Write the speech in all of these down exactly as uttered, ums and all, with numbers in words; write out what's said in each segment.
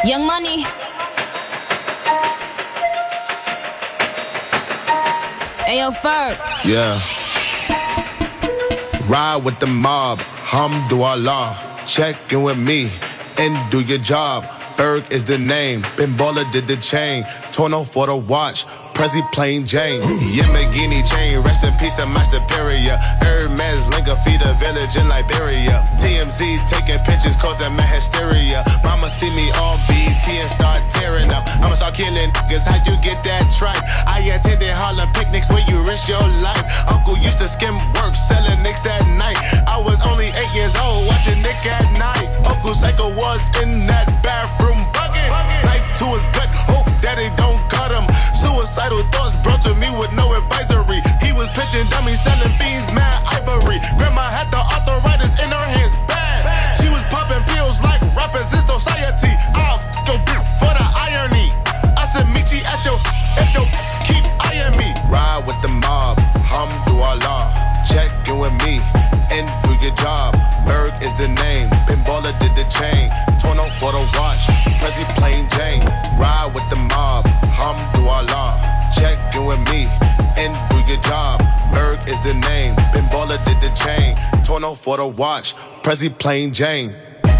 Young Money. Ayo, Ferg. Yeah. Ride with the mob, Hamdulillah. Check in with me and do your job. Ferg is the name. Ben Baller did the chain. Tono for the watch. Prezi plain Jane. Yamagini chain. Rest in peace to my superior. Hermes Linka feed a village in Liberia. T M Z taking pictures causing my hysteria. Mama see me on B E T and start tearing up. I'ma start killing niggas. How you get that tripe? I attended Harlem picnics where you risk your life. Uncle used to skim work selling nicks at night. I was only eight years old watching Nick at night. Uncle Psycho was in that bathroom bucket. Knife to his gut. Hope daddy don't cut him. Suicidal thoughts brought to me with no advisory. He was pitching dummies, selling beans, mad ivory. Grandma had the arthritis in her hands, bad. She was popping pills like rappers in society. I'll f*** your bitch for the irony. I said meet you at your, if your keep eyeing me. Ride with the mob, Hamdulillah. Check in with me and do your job. Berg is the name, Ben Baller did the chain. Tono for the watch, Prezi plain Jane. Ride with the mob, Hamdulillah. Check in with me and do your job. Berg is the name, Ben Baller did the chain. Tono for the watch, Prezi plain Jane.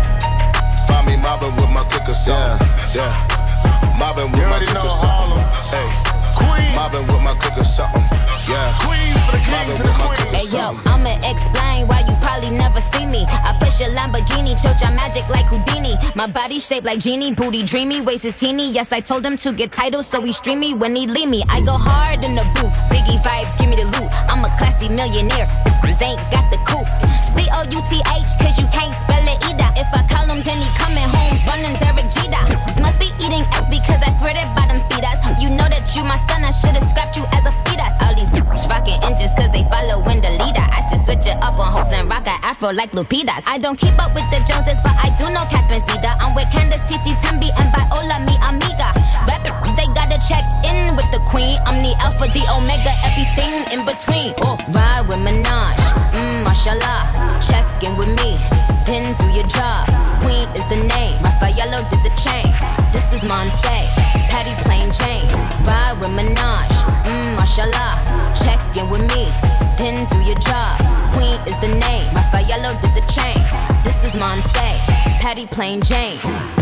Find me mobbing with my clicker song. Yeah, yeah. Mobbing with my clicker song. Hey, mobbing with my clicker something. Yeah, Queens for the kings and the queens. Hey yo, I'ma explain why you probably never see me. I push a Lamborghini, choke your magic like Houdini. My body shaped like genie, booty dreamy, waist is teeny. Yes, I told him to get titles, so he stream me when he leave me. I go hard in the booth, Biggie vibes, give me the loot. I'm a classy millionaire, bitches ain't got the couth. C O U T H, cause you can't spell it either. If I call him, then he coming home, running Derek Jeter. This must be eating up because I swear that bottom feed us. You know that you my son, I should've scrapped you as a fetus. All these bitches rocking inches cause they following the leader. I should switch it up on hoops and rock an afro like Lupitas. I don't keep up with the Joneses, but I do know Catherine Zeta. I'm with Candace, Titi, Tembi, and Viola, mi amiga. Rappers, they gotta check in with the queen. I'm the alpha, the omega, everything in between. Oh, ride with Minaj, mmm, mashallah. Check in with me, then do your job. Queen is the name, Raffaello did the chain. This is Monse, Patty plain Jane. Ride with Minaj, mmm, mashallah. Check in with me, then do your job. Queen is the name, Raffaello did the chain. This is Monse, Patty plain Jane.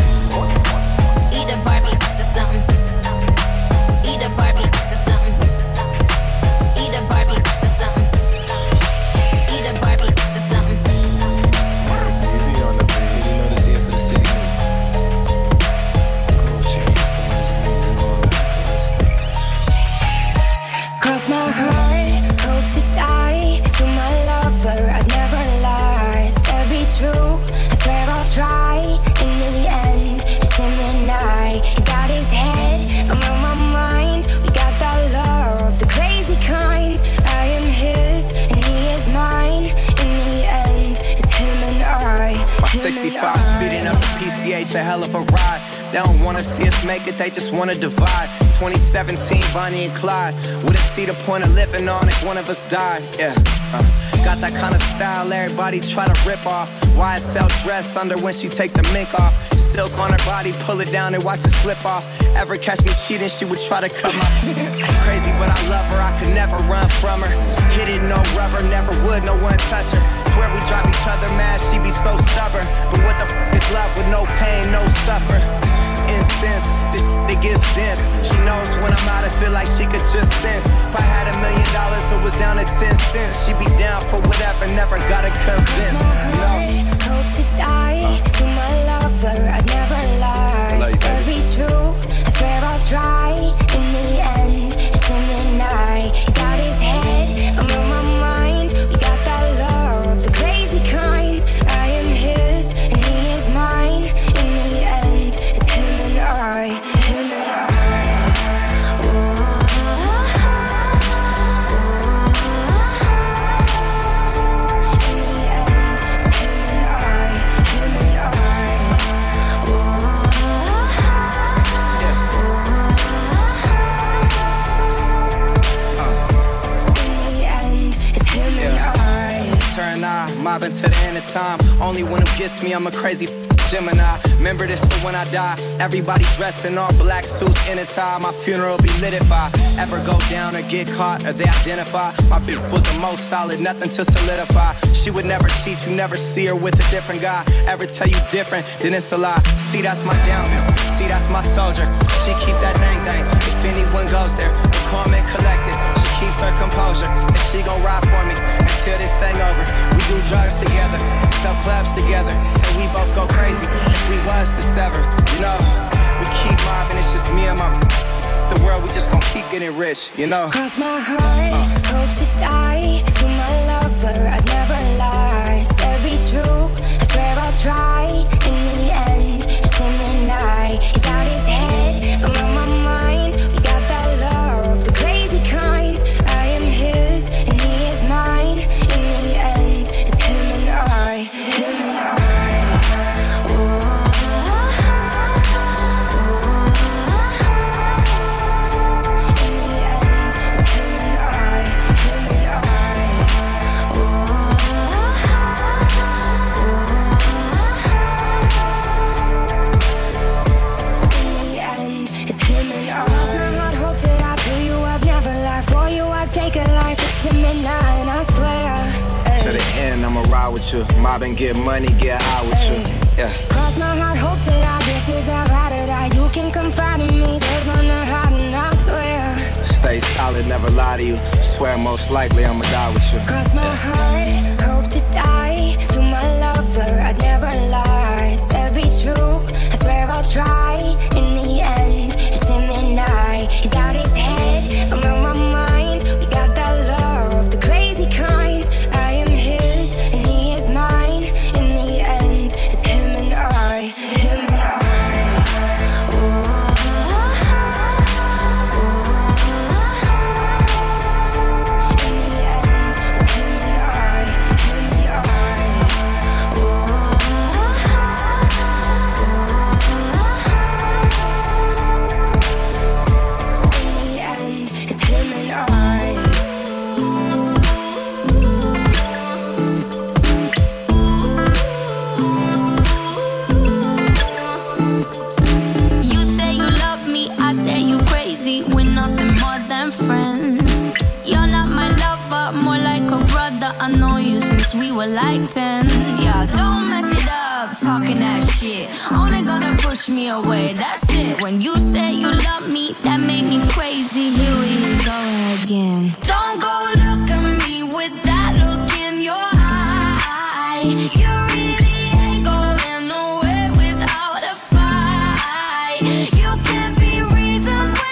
Eat a Barbie, this is something. Eat a Barbie, this is something. Eat a Barbie, this is something. Eat a Barbie, this is something. Easy on the beat, you know this here for the city. Gold chain, Cross my heart, hope to die. To my lover, I'd never lie. Said be true, I swear I'll try. In the end, it's him and I. He's got his head, I'm on my mind. We got that love, the crazy kind. I am his, and he is mine. In the end, it's him and I. My sixty-five speeding up the P C H, a hell of a ride. They don't wanna see us make it, they just wanna divide. twenty seventeen, Bonnie and Clyde. Wouldn't see the point of living on if one of us died. Yeah, uh, got that kind of style everybody try to rip off. Y S L dress under when she take the mink off. Silk on her body, pull it down and watch it slip off. Ever catch me cheating, she would try to cut my crazy, but I love her, I could never run from her. Hit it, no rubber, never would, no one touch her. Swear we drive each other mad, she be so stubborn. But what the f*** is love with no pain, no suffer? Incense, this it gets dense. She knows when I'm out, I feel like she could just sense. If I had a million dollars, it was down to ten cents. She be down for whatever, never gotta convince. No. Hope to die to my lover, I'd never lie. Said be true, I swear I'll try. In the end, it's him and I. He's got his head, I'm on my mind. We got that love, the crazy kind. I am his, and he is mine. In the end, it's him and I. Him and I. Mobbing to the end of time. only one who gets me, I'm a crazy Gemini. Remember this for when I die. Everybody dressed in all black suits in a tie. My funeral be lit if I ever go down or get caught or they identify. My bitch was the most solid, nothing to solidify. She would never cheat, you never see her with a different guy. Ever tell you different, then it's a lie. See, that's my downhill. See, that's my soldier. She keep that dang thing. If anyone goes there, the calm and collected. She keeps her composure, and she gon' ride for me until this thing over. We do drugs together, sell clubs together, and we both go crazy. If we was to sever, you know, we keep mobbing, it's just me and my the world, we just gon' keep getting rich, you know. Cross my heart, uh. hope to die. To my lover, I'd never lie. Said be true, I swear I'll try. In the end, it's him and I. He's out his head, I'm on my mind. We got that love, the crazy kind. I am his, and he is mine. In the end, it's him and I. Him and I. I'ma ride with you, mob and get money, get high with you. Yeah. Cross my heart, hope to die. This is how I to die. You can confide in me. There's none to hide, and I swear. Stay solid, never lie to you. Swear most likely I'ma die with you. Cross my yeah. heart, hope to die. To my lover, I'd never lie. Said be true, I swear I'll try. In the end, it's him and I. He's out his head, I'm on my mind. We got that love, the crazy kind. I am his, and he is mine. In the end, it's him and I. Him and I. We're nothing more than friends. You're not my lover, more like a brother. I know you since we were like ten. Yeah, don't mess it up, talking that shit. Only gonna push me away, that's it. When you say you love me, that made me crazy. Here we go again. Don't go look at me with that look in your eye. You really ain't going nowhere without a fight. You can't be reasoned with.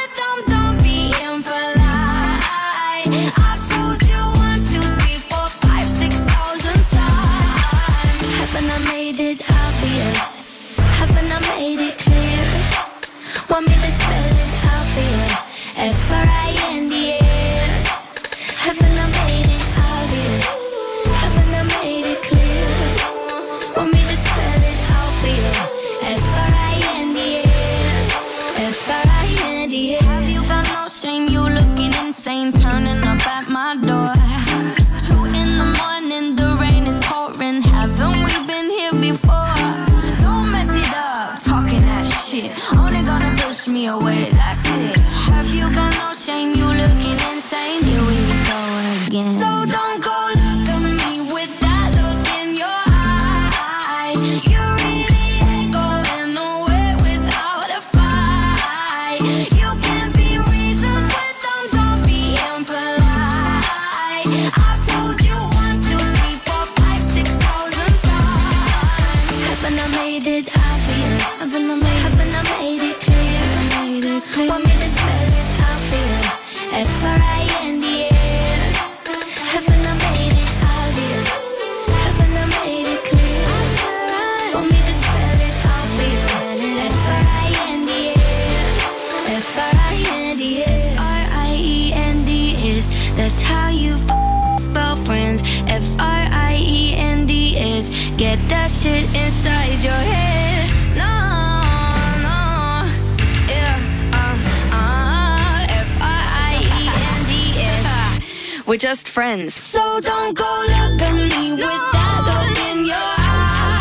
Want me to spell it out for you? F R I N D S. Haven't I made it obvious? Haven't I made it clear? Want me to spell it out for you? F R I N D S. F R I N D S. Have you got no shame? You looking insane, turning up at my door. It's two in the morning, the rain is pouring. Haven't we been here before? Don't mess it up, talking that shit. Only gonna push me away, that's it. Have you got no shame? You looking insane. Here we go again. So don't go look at me with that look in your eye. You really ain't going nowhere without a fight. You can't be reasoned with them, don't be impolite. I've told you one, two, three, four, five, six thousand times. Haven't I made it obvious? Haven't I made, haven't I made it clear? Made it clear. Want me to spell it out for you? F R I N D S. Haven't I made it obvious? Haven't I made it clear? Want me to spell it out for you? F R I N D S. F R I N D S. R I E N D S. That's how you f- spell friends. F R I E N D S. Get that shit inside your head. No, no, yeah, uh, uh, F R I E N D S. We're just friends. So don't go look at me with that look in your eye.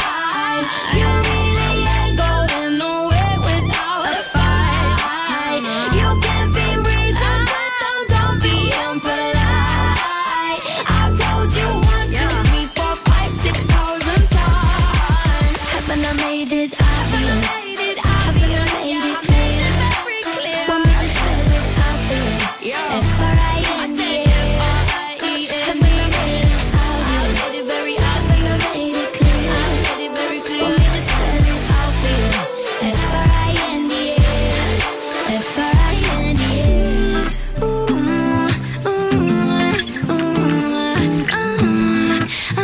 made it obvious? Haven't I made it clear? Want me to spell it out for you? F R I N D S. Haven't I made it obvious? Haven't I made it clear? Want me to spell it out for you? F R I N D S. F R I N D S. Ooh, ooh, ooh, uh, uh,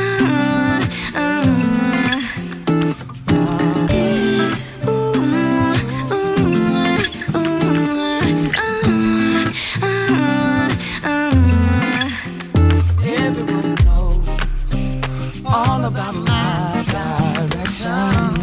uh. Everyone knows all about my direction,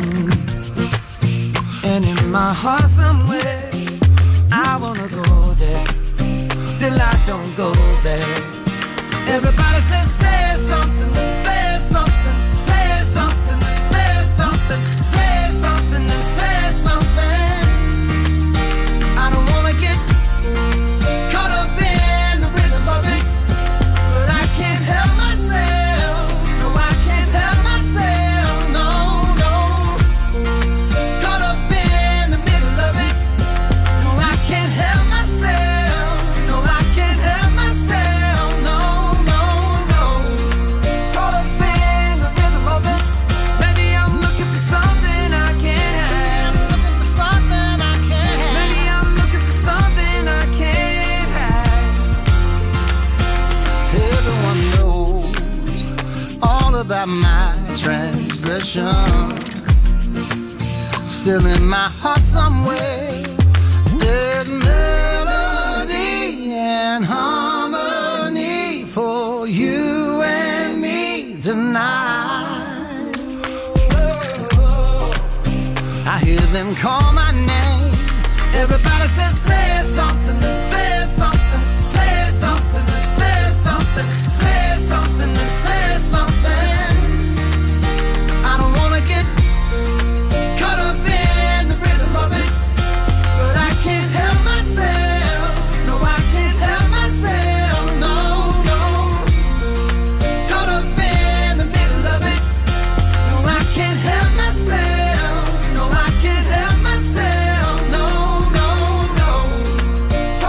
and in my heart somewhere I wanna go there. Still I don't go there. Everybody says say something, say something, say something, say something, say something, say something. I don't wanna get caught up in the rhythm of it, but I can't help myself. No, I can't help myself. No, no. Caught up in the middle of it. No, I can't help myself. No, I can't help myself. No, no, no. Caught up in the rhythm of it. Maybe I'm looking for something I can't have. Looking for something I can't have. Maybe I'm looking for something I can't have. Everyone knows all about my transgression. Still in my heart somewhere there's melody and harmony for you and me tonight. I hear them call my name. Everybody says say something, say something, say something, say something, say something, say something. I don't wanna get caught up in the rhythm of it, but I can't help myself. No, I can't help myself. No, no. Caught up in the middle of it. No, I can't help myself. No, I can't help myself. No, no, no.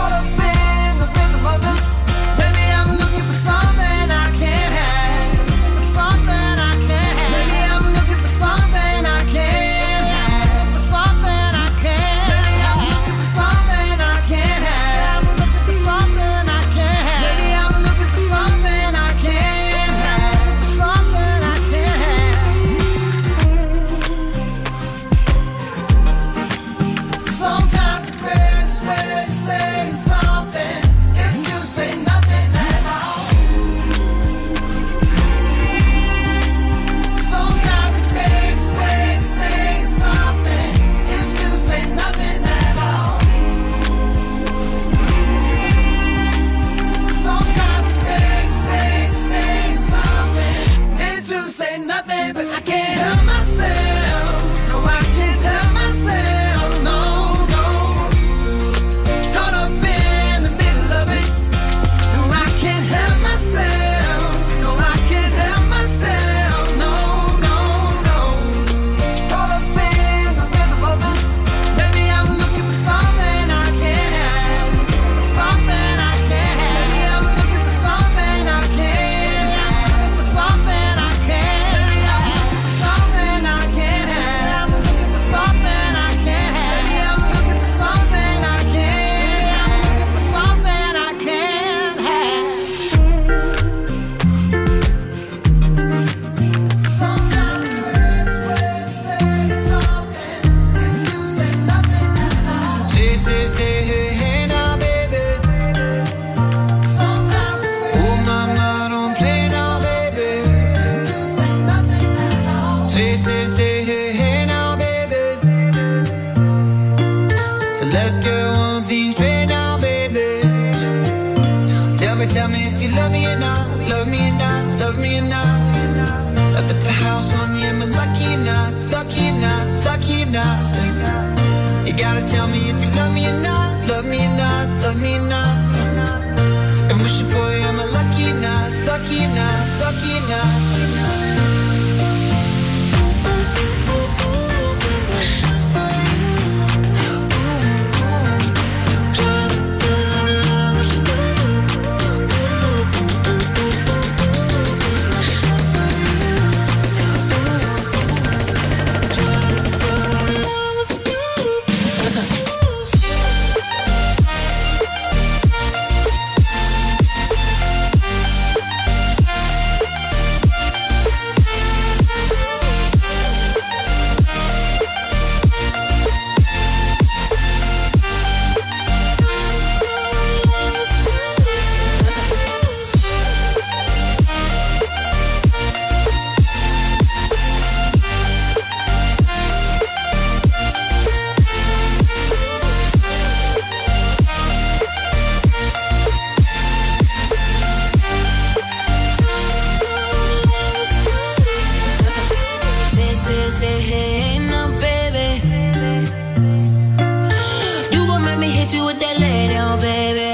hit you with that lay down, baby.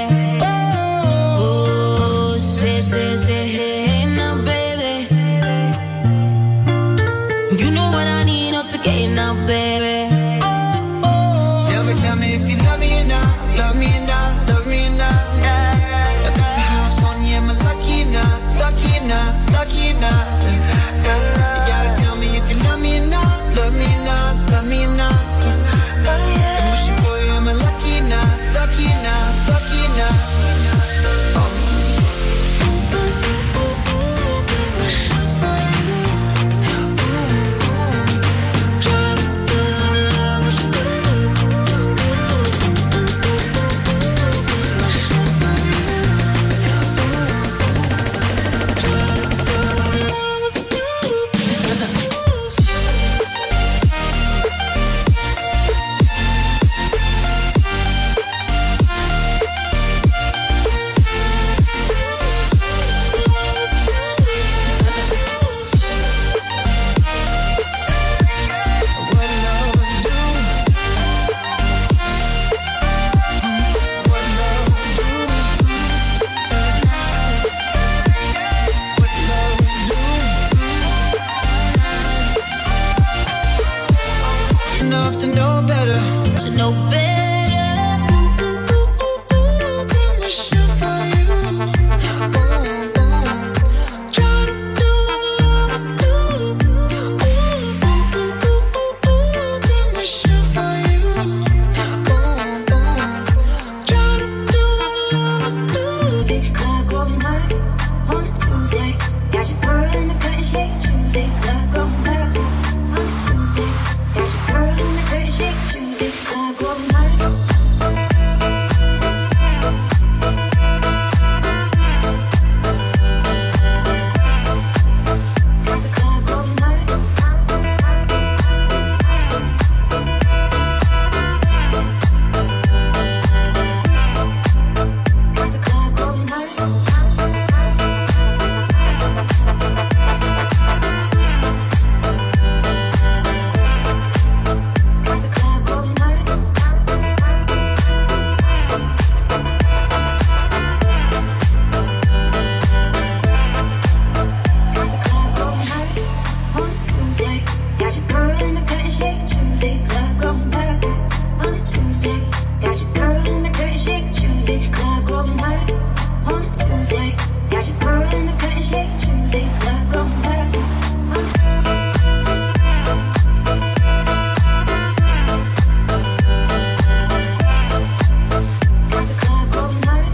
Ooh, say, say, say, hey, now, baby. You know what I need up the game now, baby. Tell me, tell me if you love me or not, love me or not, love me or not. I put the house on you, am I lucky or not, lucky or not, lucky or not? You gotta tell me if you love me or not, love me or not, love me or not. I'm wishing for you, am I lucky or not, lucky or not, lucky or not? Enough to know better, To know better. been wishing for you. Ooh, ooh. Try to do what lovers do. Ooh, ooh, ooh, ooh, ooh, been wishing for you. Ooh, ooh. Try to do what lovers do. Tuesday, club all night on a Tuesday. Got your girl in the cut and shake. Tuesday, club all night on a Tuesday. Got your girl in the cut and shake. Tuesday, club all night. Got the club all night. Got the club all night. Got the club all night. Got the club all night on a Tuesday. Got your girl in the cut and shake. Tuesday, club all night on a Tuesday. Got your girl in the cut and shake. Tuesday, club all night on a Tuesday. Got your girl in the cut and shake. Tuesday, club all night. Got the club all night.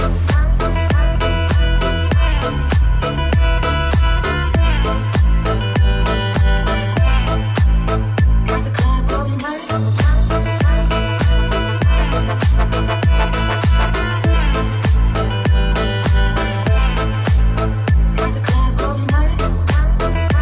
Got the club all night. Got the club all night.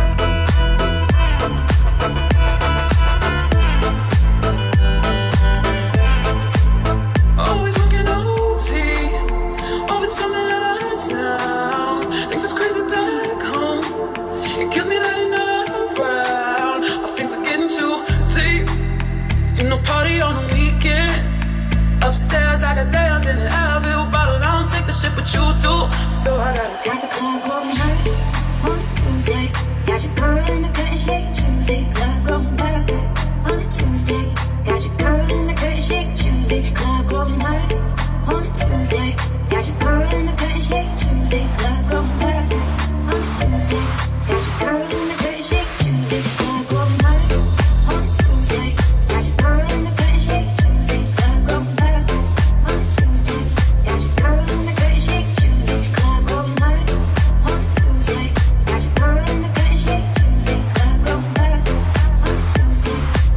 Always working O T, overtime and out of town. Things is crazy back home. It kills me that you're not around. I think we're getting too deep. You know, party on the weekend. Upstairs, I got Zans in an Advil bottle. I don't take the shit, but you do. So I gotta Got the club all night on a Tuesday. Got your girl in the cut and shake. Tuesday, club all night on a Tuesday. Got your girl in the cut and shake. Tuesday, club all night on a Tuesday. Got your girl in the cut and shake. Tuesday, club all night on a Tuesday. Got your girl in the cut and shake. Tuesday, club all night on a Tuesday. Got your girl in the cut and shake. Tuesday, club all night on a Tuesday. Got your girl in the cut and shake. Tuesday, club all night on a Tuesday. Got your girl in the cut and shake. Tuesday, club all night on a Tuesday.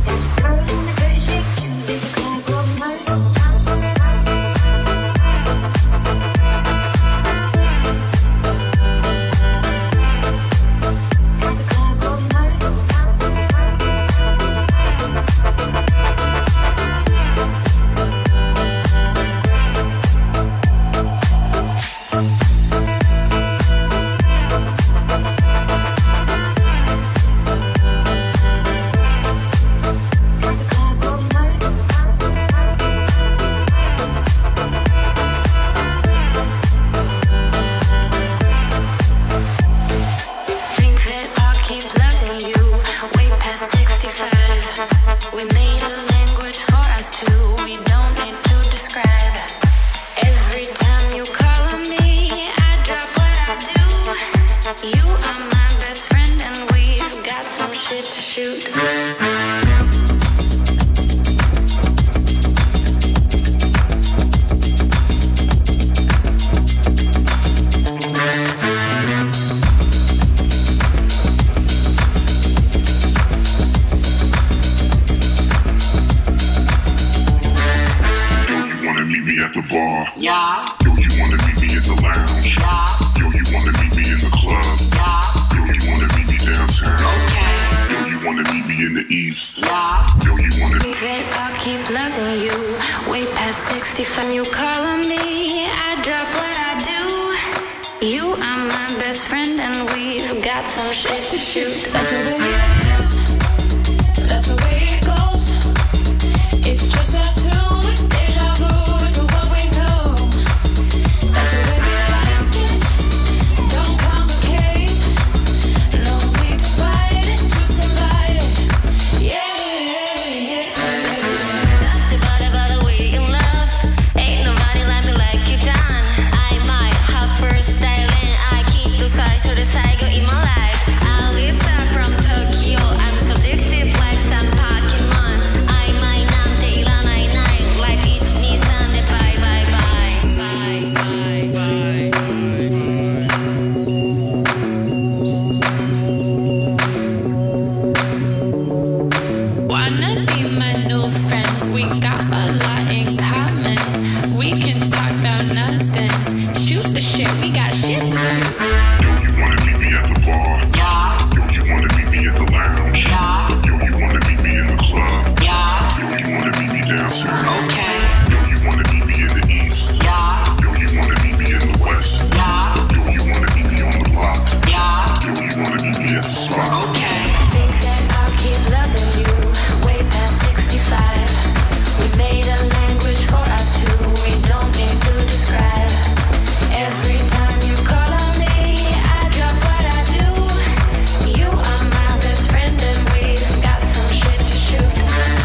the bar? Yeah. Yo, you wanna meet me at the lounge? Yeah. Yo, you wanna meet me in the club? Yeah. Yo, you wanna meet me downtown? Okay. Yo, you wanna meet me in the east? Yeah. Yo, you wanna Baby, I'll keep loving you. Way past sixty-five, you calling me. I drop what I do. You are my best friend, and we've got some shit to shoot. That's the way it is. That's the way it goes. It's just us two. It's deja vu to what we know. That's the way we like it. Don't complicate. No need to fight it. Just invite it. Yeah, yeah. Nothing but about the way you love. Ain't nobody like me like you done. I might have first style and I keep the size to the side go in my life. Alisa from Tokyo. I'm so addictive like some Pokemon. I might not date on night night like each Nissan. Bye bye bye. Bye bye bye. Wanna be my new friend? We got a lot in common. We can talk about nothing. Shoot the shit, we got shit to shoot. Yo, you wanna meet me at the bar? Yeah. Yo, you wanna meet me at the lounge? Yeah. Yo, you wanna meet me in the club? Yeah. Yo, you wanna meet me downtown? Okay. Yo, you wanna meet me in the east? Yeah. Yo, you wanna meet me in the west? Yeah. Yo, you wanna meet me on the block? Yeah. Yo, you wanna meet me at the spot? Okay. Think that I'll keep loving you. Way past sixty-five. We made a language for us two. We don't need to describe. Every time you call on me, I drop what I do. You are my best friend, and we've got some shit to shoot.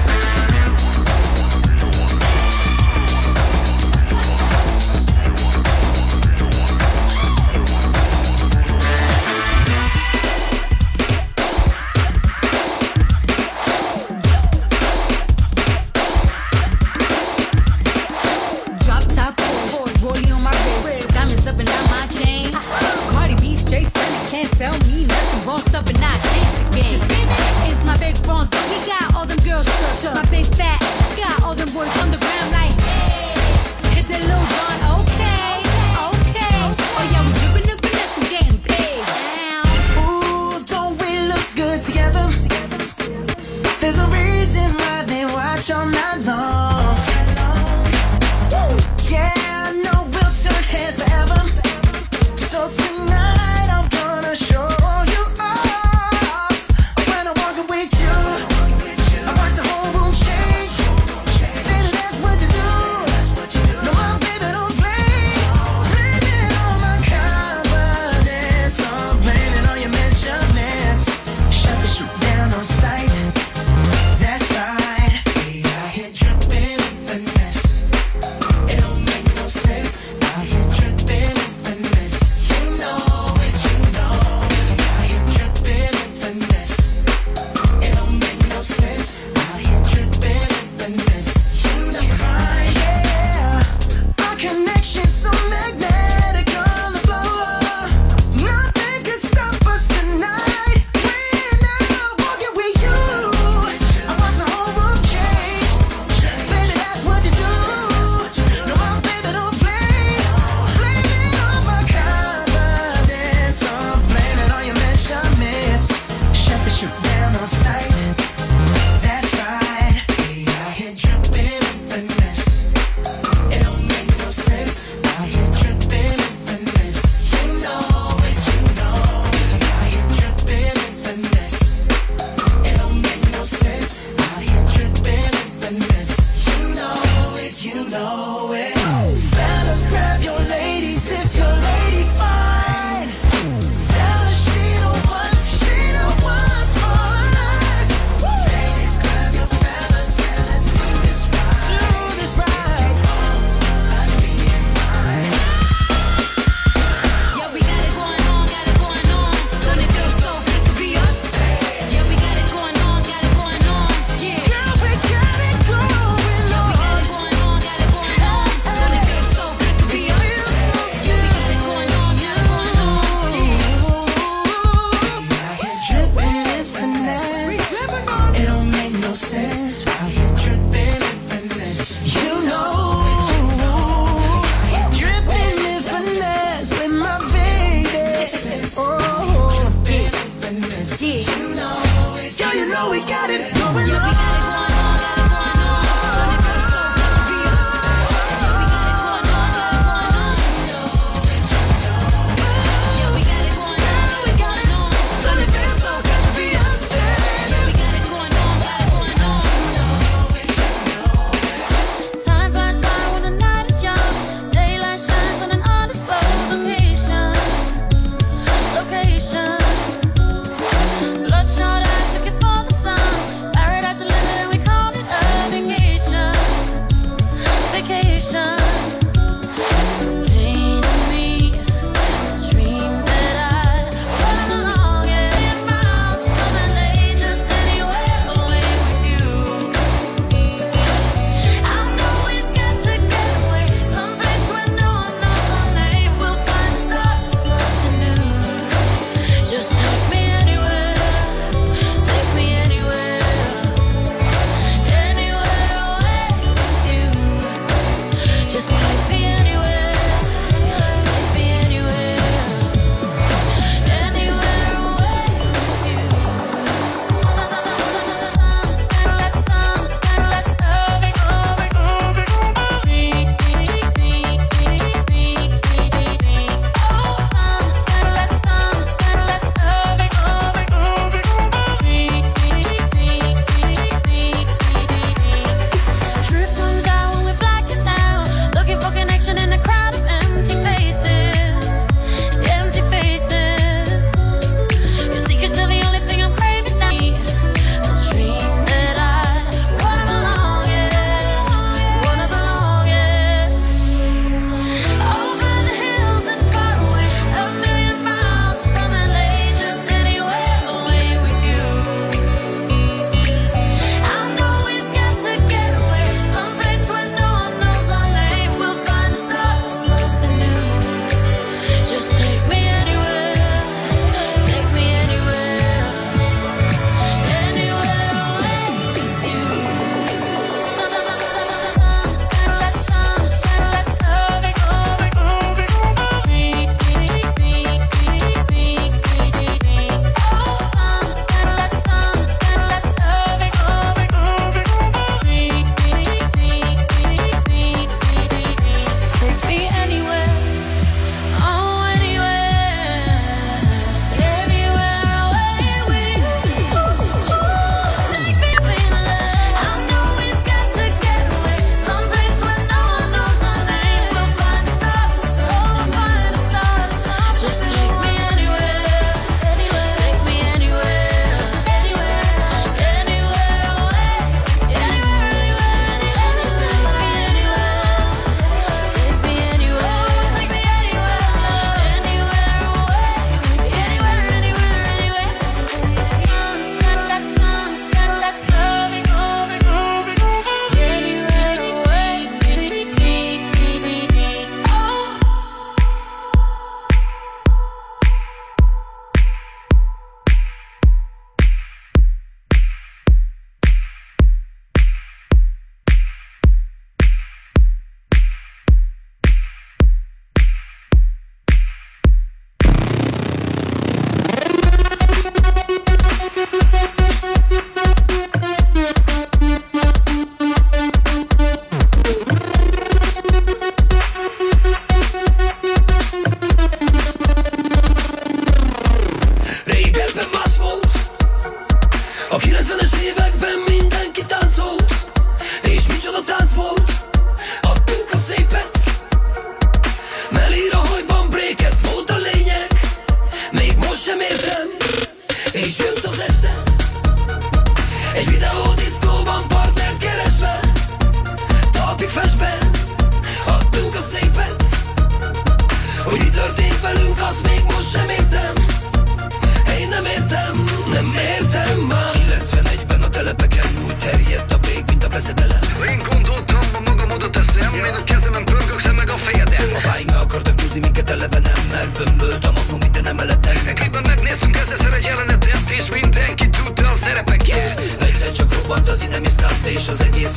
Drop top Porsche, rollie on my wrist, diamonds up and down my chain. Cardi B straight stunning, can't tell me nothing. Bossed up and I change the game. It's my big bronze, but we got all them girls shook. My big fat, got all them boys on the ground like, hey. Hit that little John, okay, okay. Oh yeah, we dripping the finesse and getting paid. Down. Ooh, don't we look good together? There's a reason why they watch all night long. Woo! Yeah, I know we'll turn heads forever. So tonight I'm gonna show you off. When I walk with you, I watch the whole room change. Baby, that's what you do. No, my baby don't play. Blaming on my confidence. I'm blaming on your measurements. Shut the shit down on sight. That's right.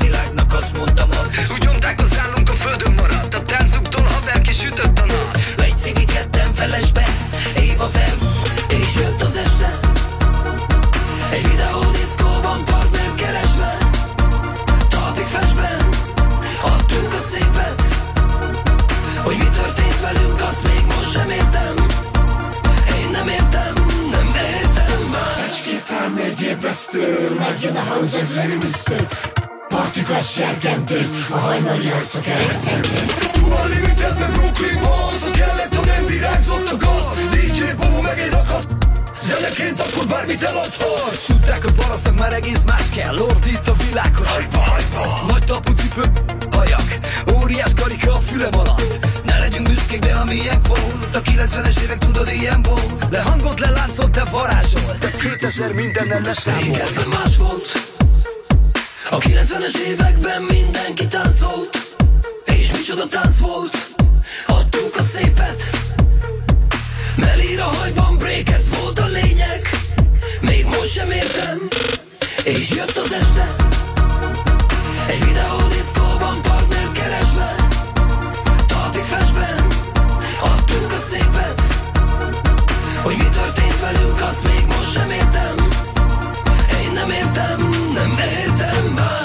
világnak azt mondta mag. Úgy nyomták az állunk a földön maradt, a táncuktól haver kisütött a nap. Egy cigi ketten felesbe, Éva Vem, és jött az este. Egy videódiszkóban partnert keresve, talpig festben, adtunk a szépet. Hogy mi történt velünk, azt még most sem értem. Én nem értem, nem értem már. Egy-két ám egy ébresztő, megjön a house, ez remixtő. Partikat serkentő, a hajnali arcok elretentő. Tuval limited, nem Brooklyn Balls. Ha kellett, ha nem virágzott a gaz. dé dzsé Bobo meg egy rakat. Zeneként akkor bármit eladhatsz. Tudták, hogy parasztnak már egész más kell. Ordít a világhoz. Hajpa, hajpa. Nagy tapucipő, hajak, óriás karika a fülem alatt. Ne legyünk büszkék, de ami ilyen volt. A kilencvenes évek tudod ilyen volt. Le hangot leláncolt, te varázsolt. kétezer mindennel leszámolt. Régebben más volt. A kilencvenes években mindenki táncolt. És micsoda tánc volt. Adtuk a szépet. Melír a hajban break, ez volt a lényeg. Még most sem értem. És jött az este. Egy videódiszkóban partnert keresve, talpig festben, adtunk a szépet. Hogy mi történt velünk, azt még most sem értem. Én nem értem, nem értem már.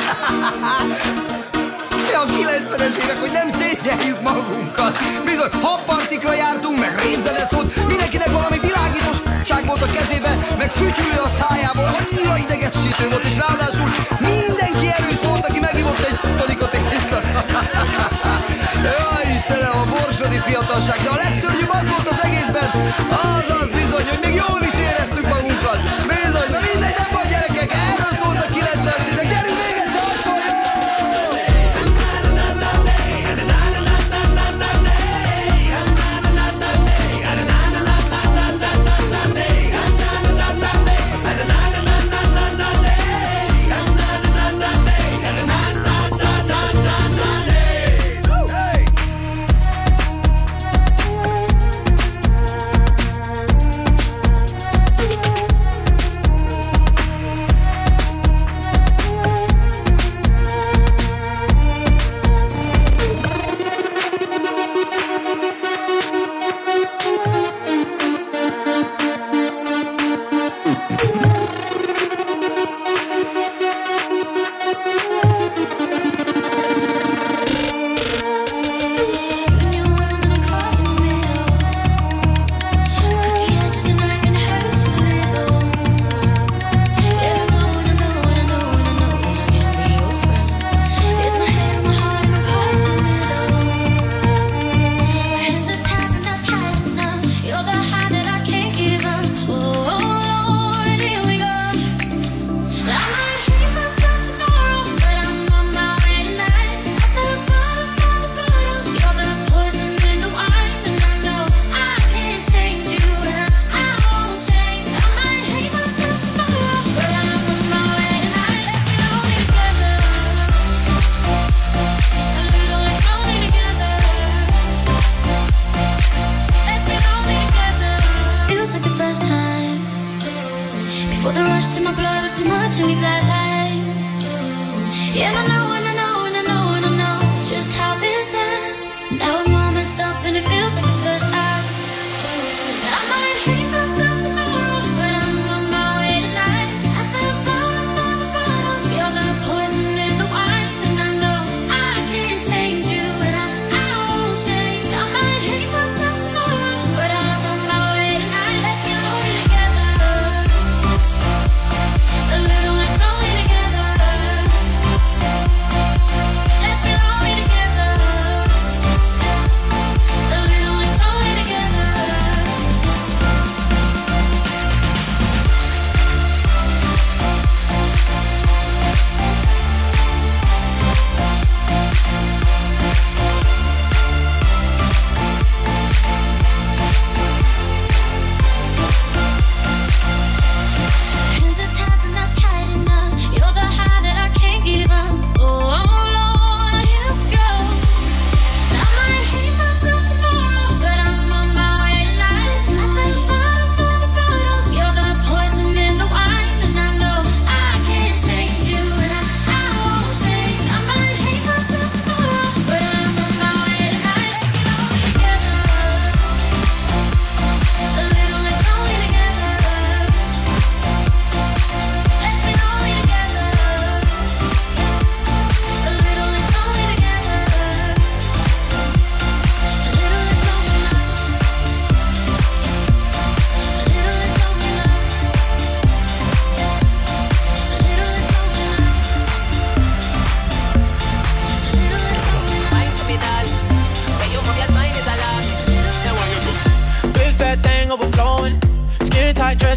A kilencvenes évek, hogy nem szégyeljük magunkat. Bizony, habpartikra jártunk, meg rémzene szólt. Mindenkinek valami világítosság volt a kezébe, meg fütyülő a szájából. Annyira idegesítő volt, és ráadásul mindenki erős volt, aki megívott egy todikot éjszaka. Jaj, Istenem, a borsodi fiatalság. De a legszörnyűbb az volt az egészben, az az bizony, hogy még jól is éreztük magunkat. Bizony, na mindegy, nem vagy gyerekek, erről szólt a kilencvenes évek. Gyerünk még egy szarszoljon!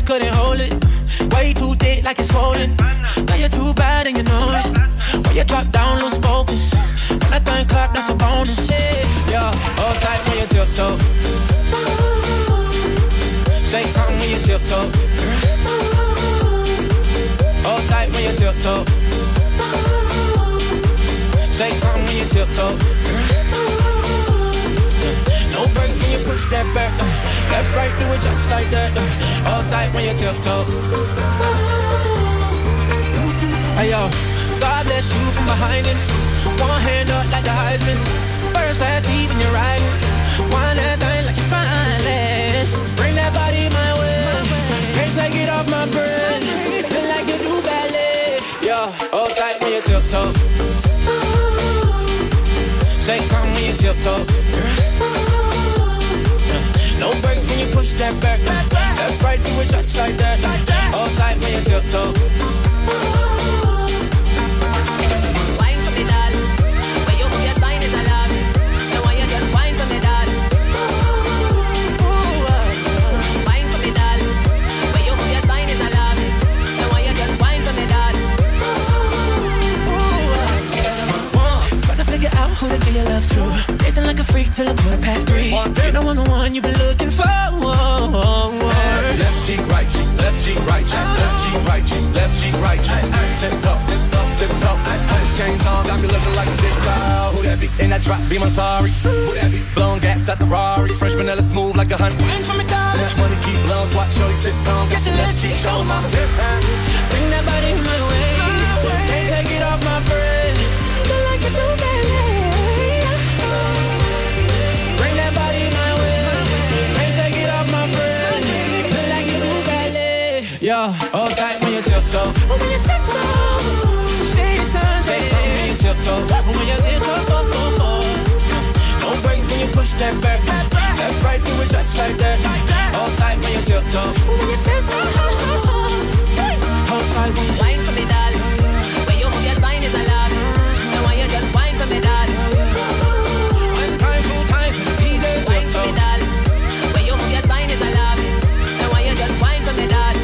couldn't hold it. Way too thick like it's swollen. Now you're too bad and you know it. When you drop down, lose focus. When I think clap, that's a bonus. Yeah, hold tight when you tiptoe. Shake something when you tiptoe. Hold tight when you tiptoe. Shake something when you tiptoe. No brakes when you push that back. Uh, left, right, do it just like that. Uh, hold tight when you tiptoe. Hey yo, God bless you from behind it. One hand up like the Heisman. First class, even you're riding. One that thing like it's spineless. Bring that body my way. Can't take it off my brain. Feel like you do ballet. Yo, hold tight when you tiptoe. Shake something when you tiptoe. No brakes when you push that back. Left, right, do it just like that. Hold tight when you tiptoe. Wine for me, doll. When you move your spine is alarm. So why you just wine for me, doll? Wine for me, doll. When you move your spine is alarm. So why you just wine for me, doll? Trying to figure out who to give your love to. Dancing like a freak till a quarter past three. You know I'm the one you've been looking for. Left cheek, right cheek, left cheek, right cheek, left cheek, right cheek, left cheek, right cheek. Tip top, tip top, tip top. Chains on, got me looking like a bitch style. Who that be? In that drop, be my sorry. Who that be? Blowing gas at the Rari. Fresh vanilla smooth like a honey. Wine for me, dog. That money keep blowing, swat, show you tip tongue. Get your left cheek, show my tip. Bring that body my way. Can't take it off my brain. Feel like you do ballet. Bring that body my way. Can't take it off my brain. Feel like you do ballet. Yo, hold tight when you tiptoe. When you tiptoe. Shake the sun, shake something when you tiptoe. When you tiptoe. No brakes when you push that back. Left, right, do it just like that. Hold tight when you tiptoe. When you tiptoe. Hold tight when you wine for me, doll. When you move your spine is alarm. So why you just wine for me, doll? One time, two time, D J wine for me, doll. When you move your spine is alarm. So why you just wine for me, doll?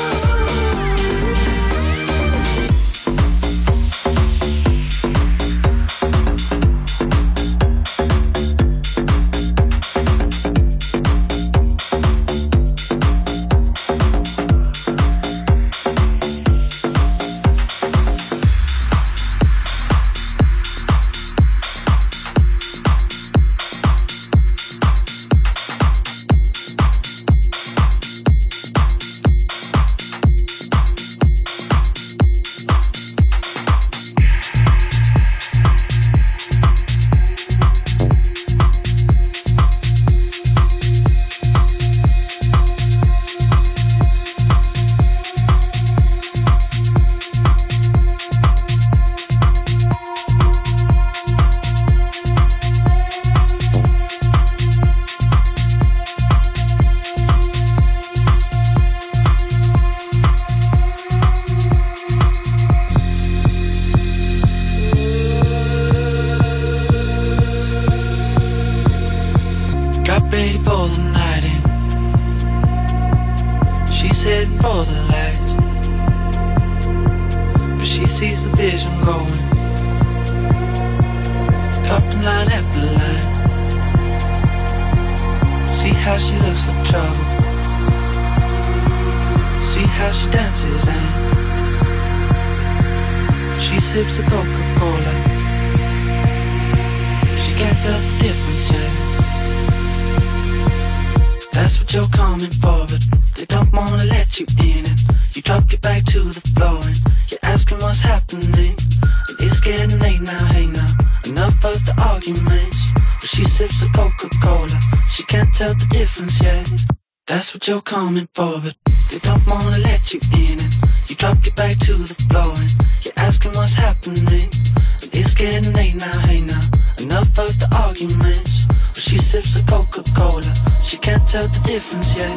That's what you're coming for, but they don't wanna let you in it. You drop your back to the floor and you're asking what's happening. And it's getting late now, hey now. Enough of the arguments. But she sips the Coca-Cola. She can't tell the difference yet.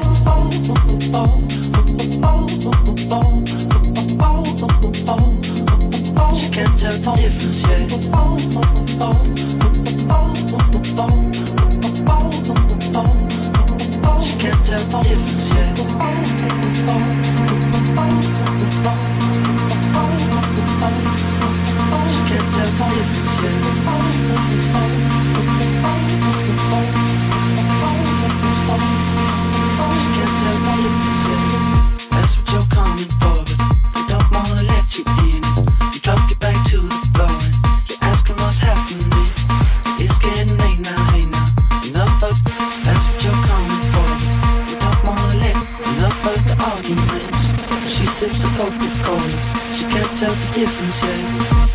She can't tell the difference yet. She can't tell the difference yet. tell the difference yet.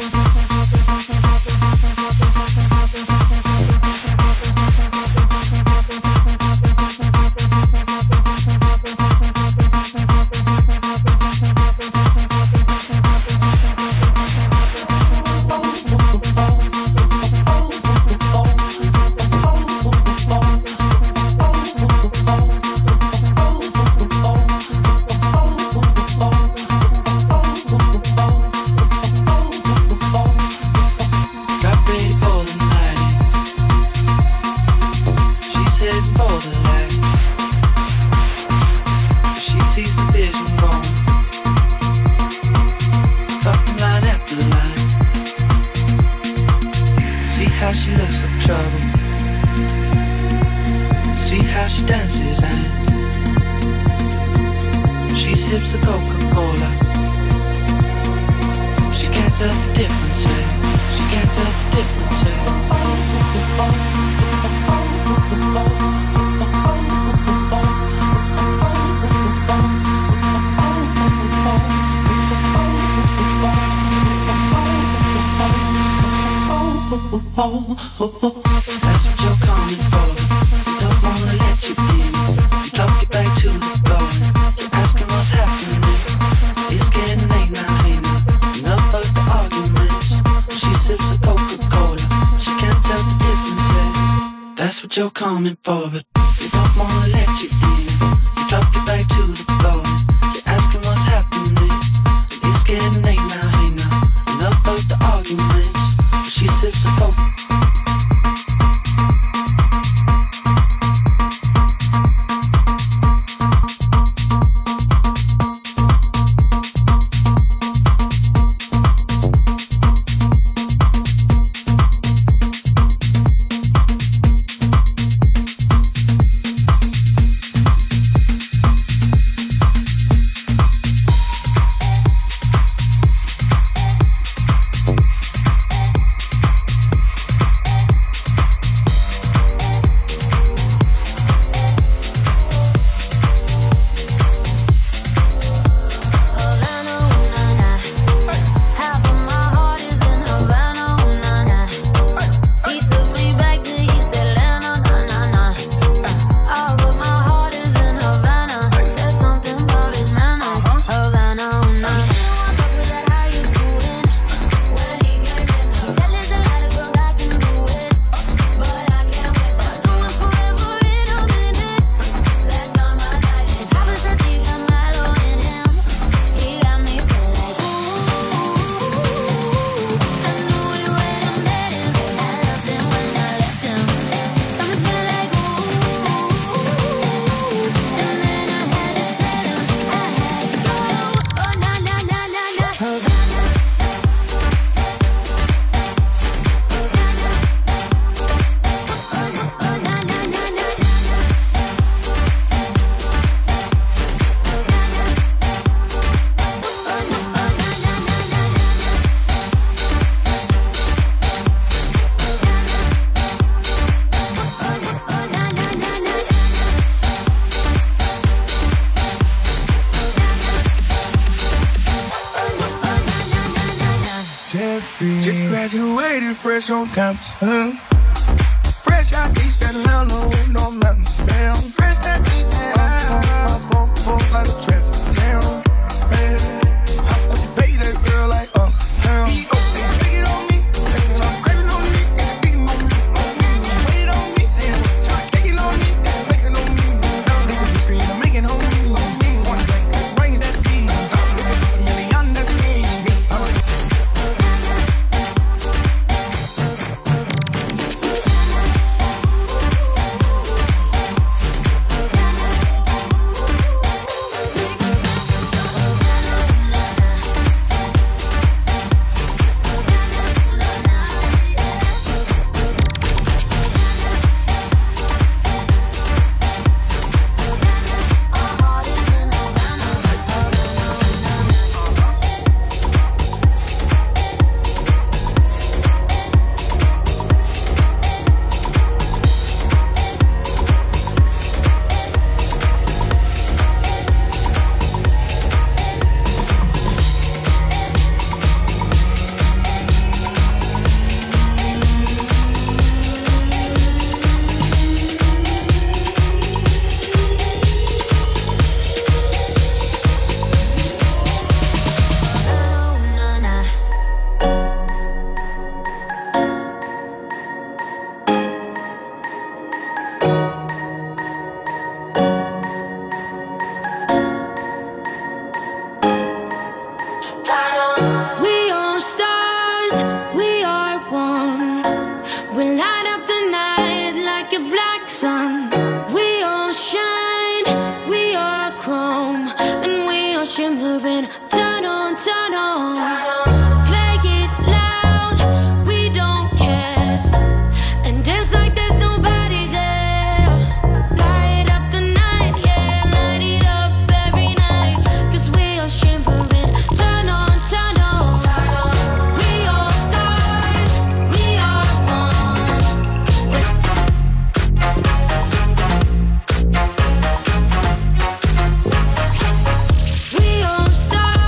You're coming for, but you don't wanna let you in. You drop your back to the floor. You're asking what's happening. It's getting late now, hey now. Enough of the arguments. She sips the coke. Just graduated fresh on campus. Huh? Fresh out East Atlanta with no mountains. Damn. Fresh out East Atlanta. Up on board like a traffic jam. Man, how could you pay that girl like Uncle Sam? He go, they take it on me. I'm craving on me. And beating on me. Wait it on me. Try to take it on me. Make it on me. This is the screen. I'm making on me. One drink. This range that beat. It's a million. That's me. shimmering. Turn on, turn on. Play it loud, we don't care. And dance like there's nobody there. Light up the night, yeah, light it up every night. Cause we are shimmering. Turn on, turn on. We are stars, we are one. We are stars.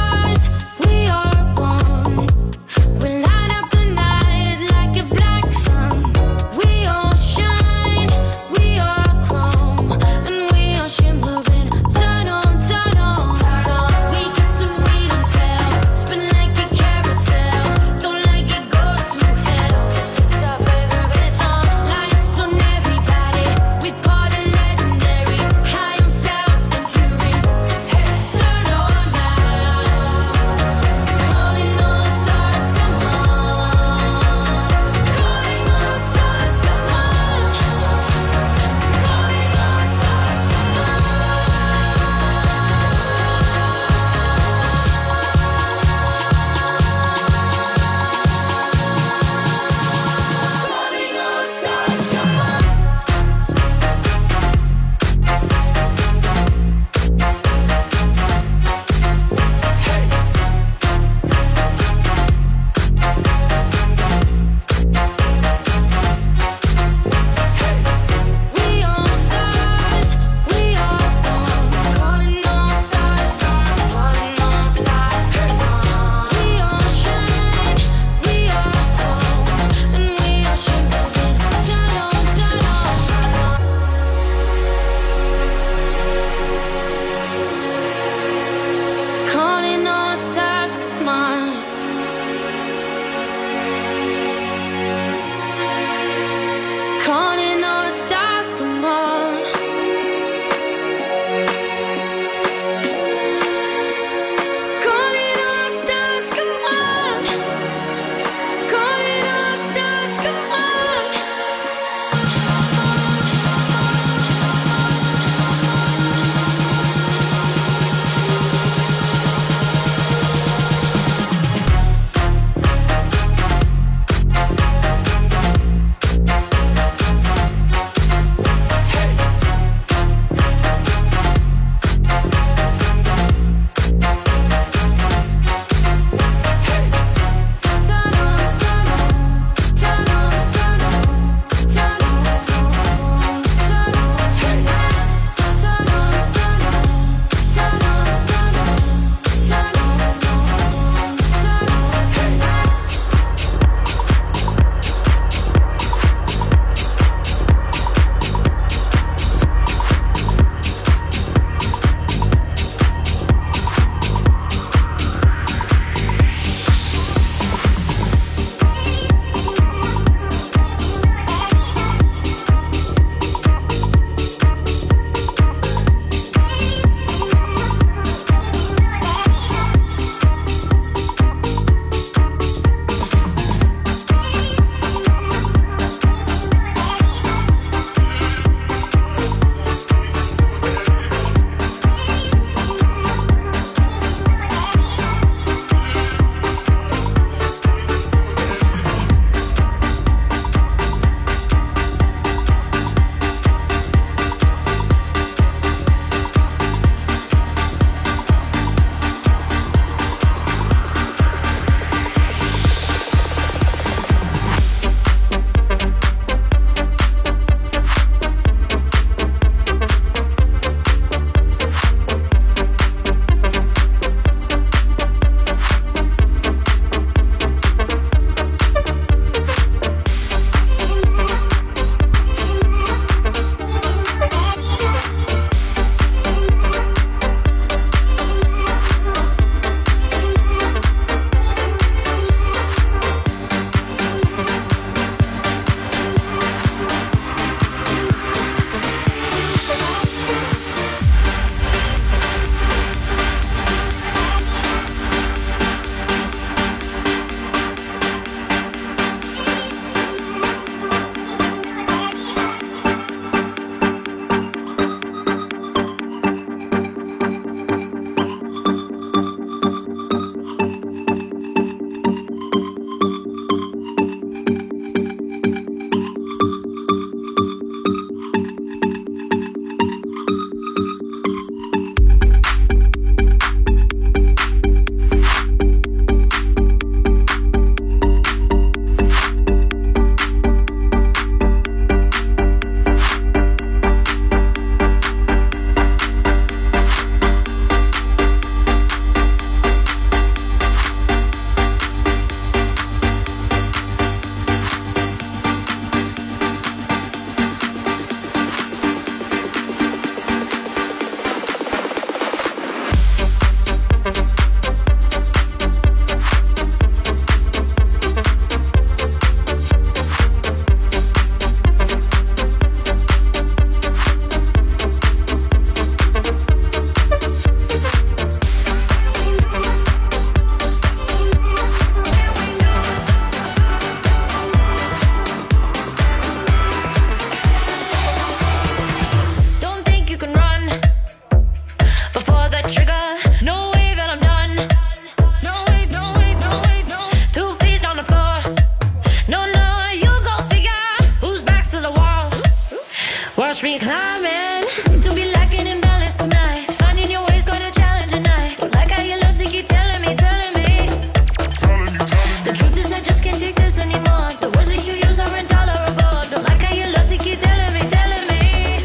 finish reclimbing. Seem to be lacking in balance tonight. Finding your way's quite a challenge tonight. Don't like how you look to keep telling me, telling me. The truth is I just can't take this anymore. The words that you use are intolerable. Don't like how you look to keep telling me, telling me.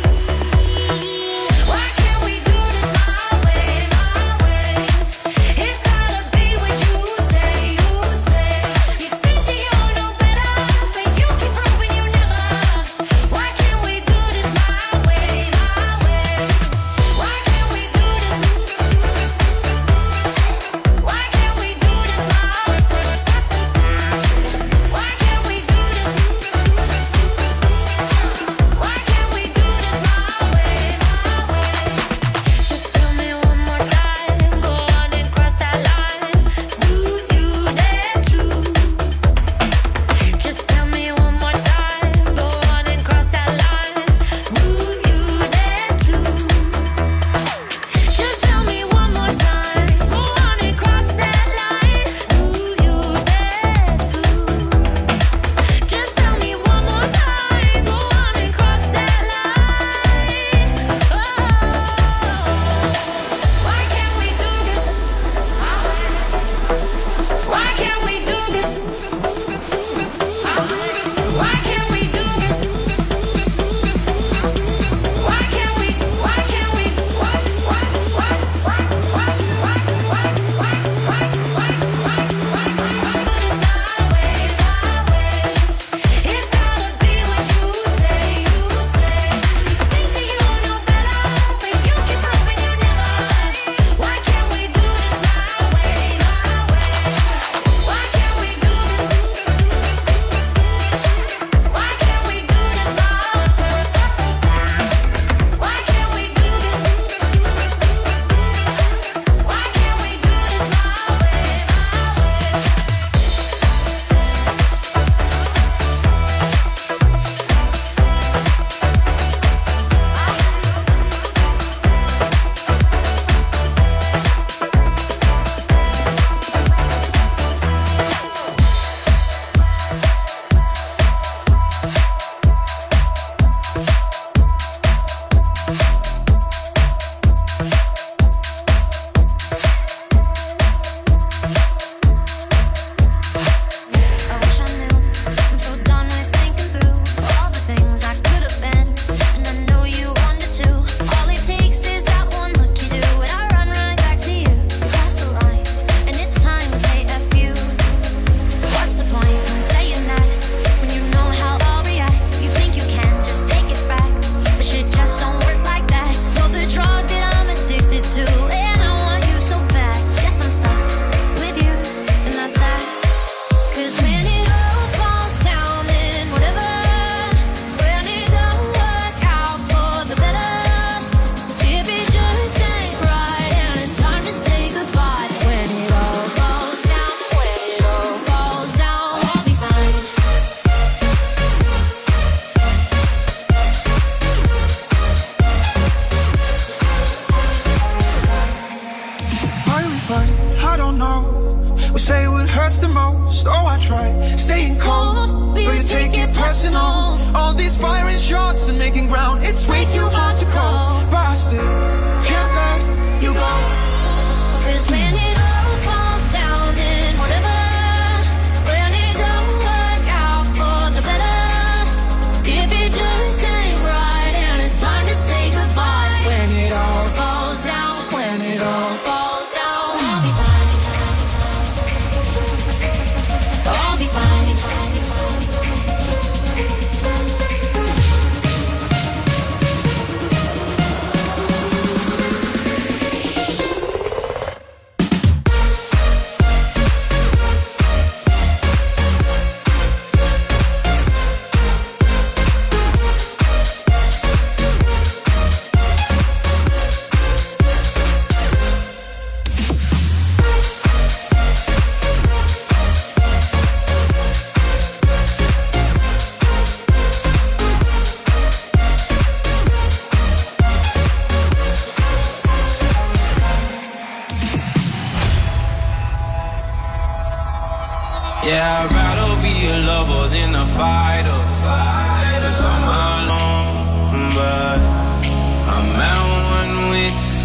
Why can't we do this my way, my way? It's gotta be what you say, you say. You think that you know better, but you keep proving you never. Why can't we do this my way, my way? Why can't we do this? Why can't we do this my way? Why can't we do this? Why can't we do this my way, my way? Just tell me one more time, go on and cross that line. Do you dare to? Just tell me one more time, go on and cross that line. Do you dare to? Just tell me one more time, go on and cross that line. Do you dare to? Just tell me one more time, go on and cross that line. Oh, why can't we do this? Why can't we do this? Why can't we do this? Why can't we? Why can't we? Why? Why? Why? Why? Why? Why? Why? Why? Why? Why? Why? Why? This my way, my way. It's gotta be what you say, you say. You think that you know better, but you keep proving you never. Why can't we do this my way, my way? Why can't we do this? Why can't we do this my way? Why can't we do this? Why can't we do this my way, I wish I knew. I'm so done with thinking through all the things I could have been, and I know you wanted to. All it takes is that one look you do, and I run right back to you. You cross the line, and it's time to say F you. What's the point in saying that when you know how I'll react? You think you can just take it back, but shit just don't work like that. You're the drug that I'm addicted to, and I want you so bad. Guess I'm stuck with you, and that's that. 'Cause when it all falls down, then whatever. When it don't work out for the better, if it just ain't right and it's time to say goodbye. When it all falls down, when it all falls down, I'll be fine. Why we fight? I don't know. We say what hurts the most. Oh, I try staying cold, but you take it personal. All these firing shots and making ground, it's way too hard to call. But I still can't let you go. 'Cause when it all falls down, then whatever. When it don't work out for the better, if it just ain't right and it's time to say goodbye. When it all falls down, when it all falls down, I'll be fine. I'll be fine. Yeah, I'd rather be a lover than a fighter. Cause I'm alone, but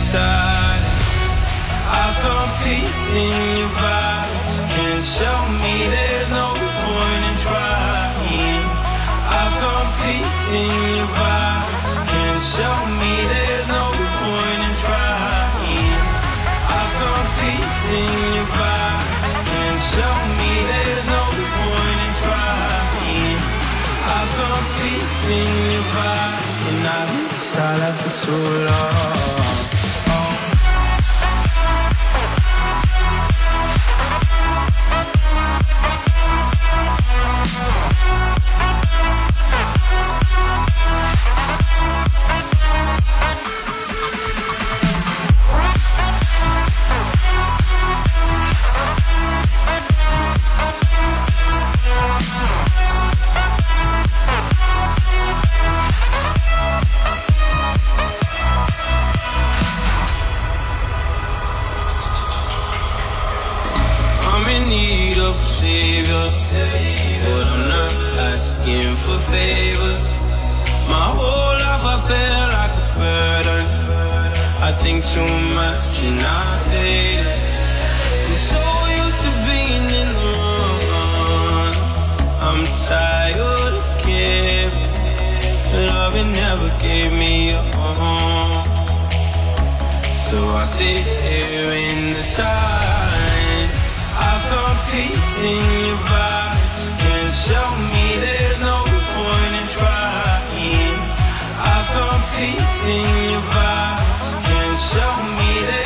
silence. I found peace in your vibes. Can't show me there's no point in trying. I found peace in your vibes. Can't show me there's no point in trying. I found peace in your vibes. Can't show me there's no point in trying. I found peace in your vibes, and I was silent for too long. Savior, but I'm not asking for favors. My whole life I feel like a burden. I think too much and I hate it. I'm so used to being in the wrong. I'm tired of caring. Love it never gave me a home. So I sit here in the silence. I found peace in your vibes. Can't show me there's no point in trying. I found peace in your vibes. Can't show me that.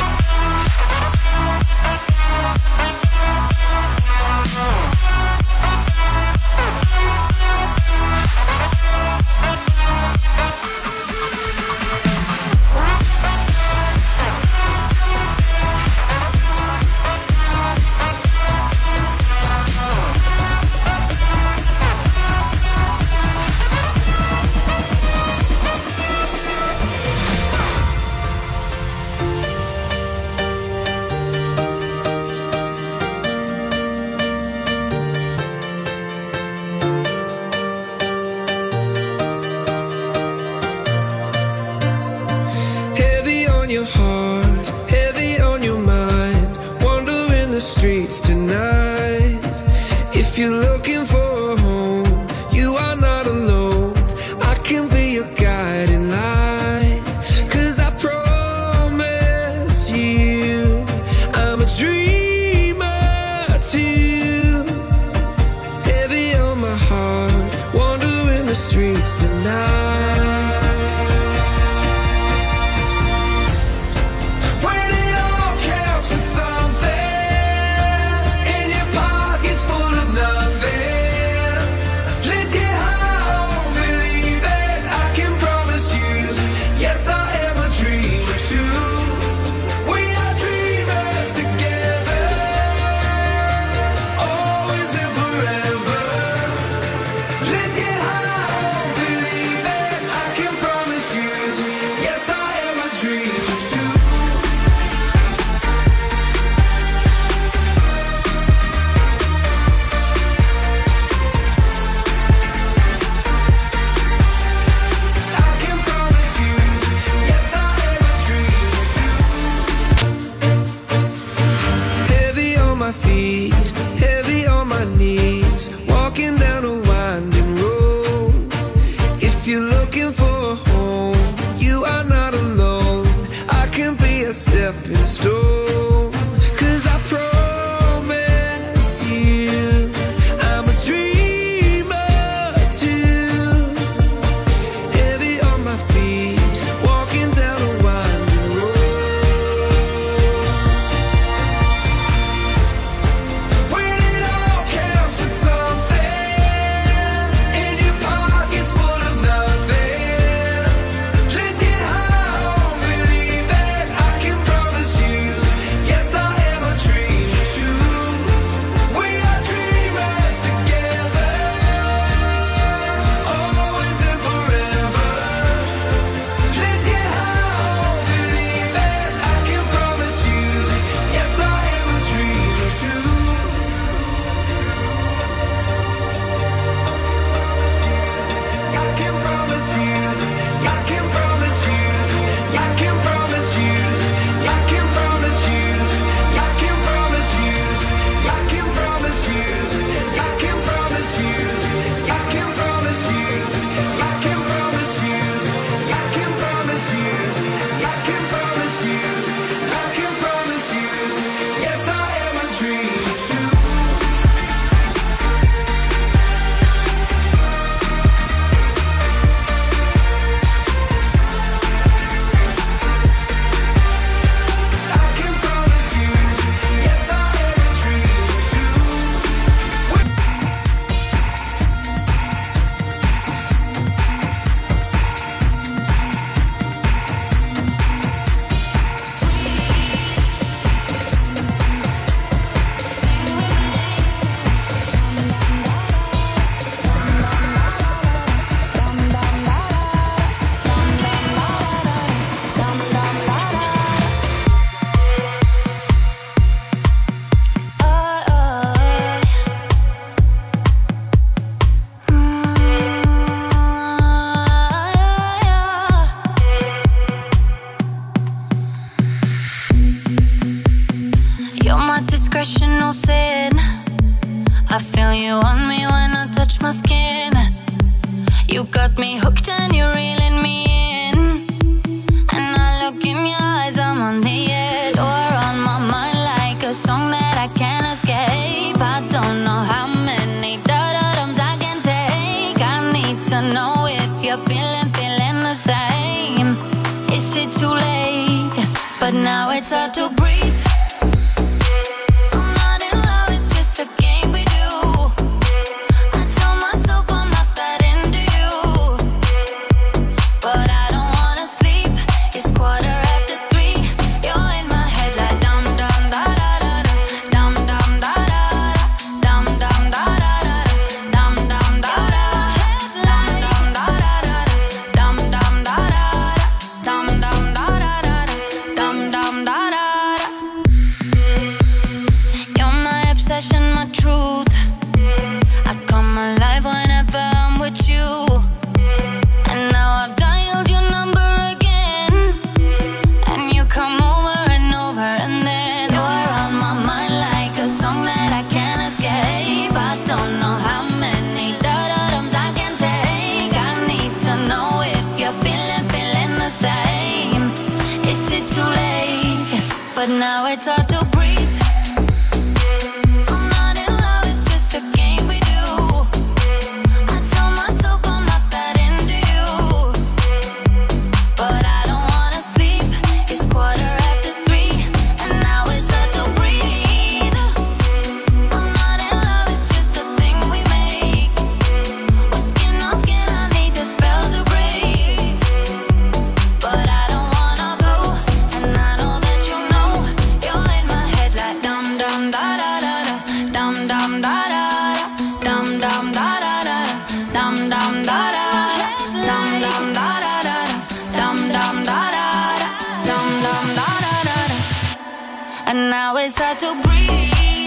again. You got me hooked and you're reeling me in. And I look in your eyes, I'm on the edge. You're on my mind like a song that I can't escape. I don't know how many da-da-dums I can take. I need to know if you're feeling, feeling the same. Is it too late? But now it's hard to breathe. But now it's hard to breathe. I'm not in love, it's just a game we do. I tell myself I'm not that into you, but I don't wanna sleep. It's quarter after three, and now it's hard to breathe. I'm not in love, it's just a thing we make. We're skin on skin, I need the spell to break. But I don't wanna go, and I know that you know. You're in my head like dum dum da da da da, dum dum da da da, dum dum da da da, dum dum da da da, dum dum da da da, dum dum da da da, dum dum da da da. And now it's hard to breathe.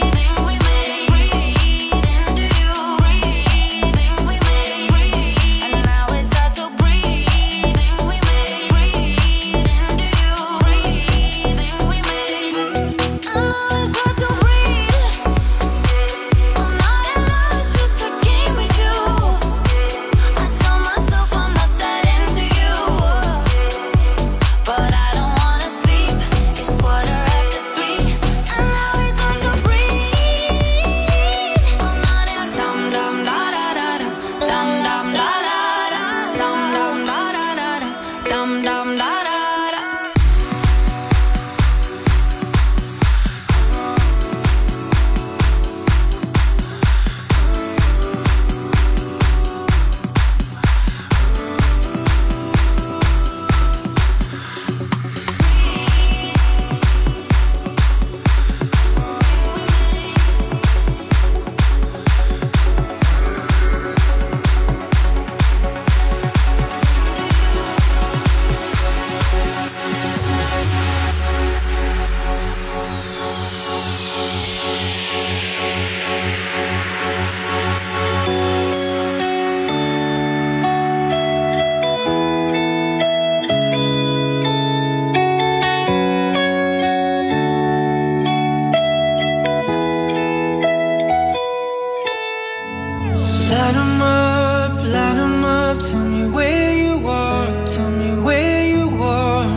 Light 'em up, light 'em up. Tell me where you are, tell me where you are.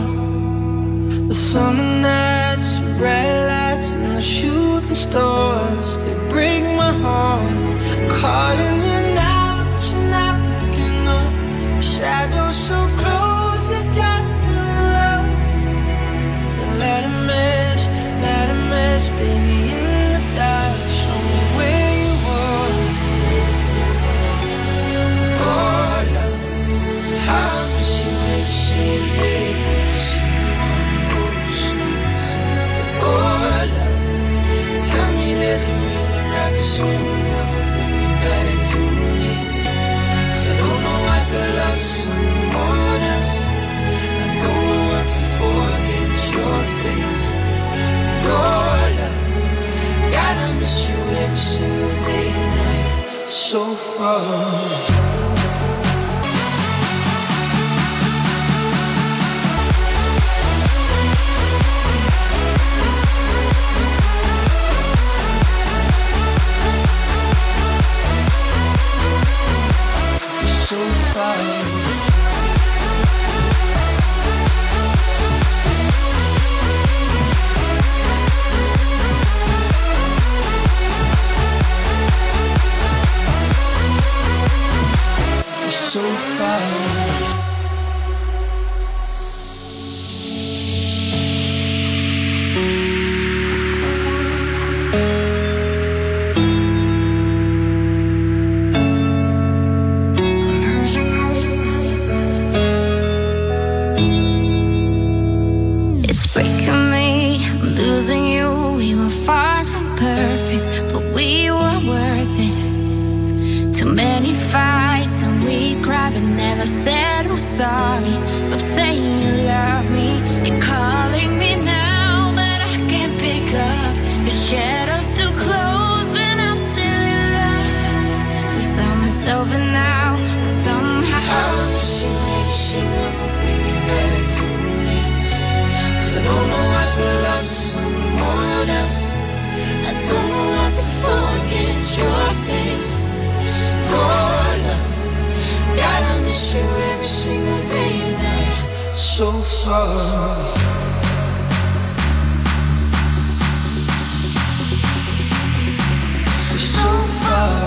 The summer nights, bright lights, and the shooting stars, they break my heart. Calling you now, but you're not picking up. Shadows so close, if you're still in love, then let 'em mess, let 'em mess, baby, in the dark. Show me where you are. Oh, love, how does she make you day? She on those streets. Oh, love, tell me there's a river I can swim that will bring you back to me. 'Cause I don't know how to love someone else. I don't know what to forget your face. Oh, love, God, I miss you every single day and night. So far. far. Sorry, stop saying you love me. You're calling me now, but I can't pick up. The shadows too close and I'm still in love. Cause I'm myself and now, but somehow I wish you maybe should never be nice to me. Cause I don't know how to love someone else. I don't know how to forget your face. Oh, love, God, I miss you every single day and night. So far. So far.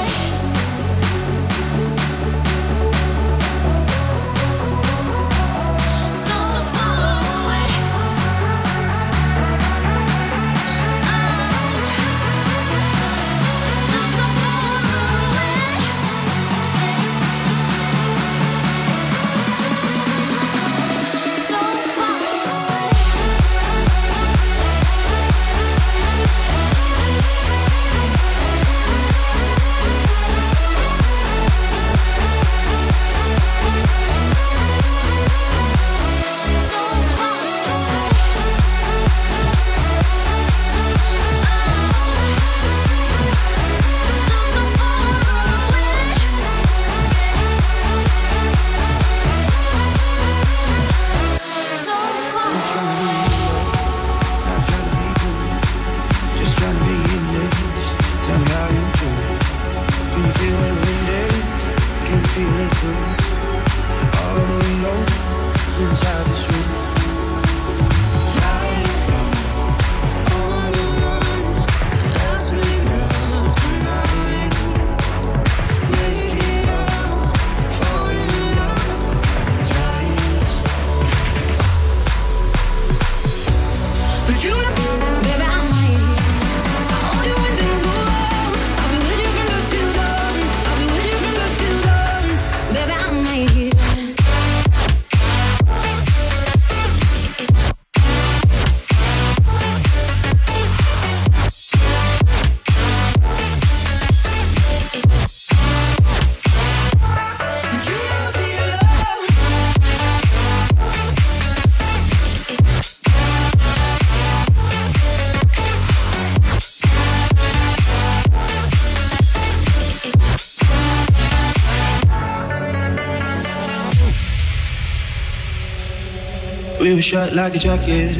We were shot like a jacket,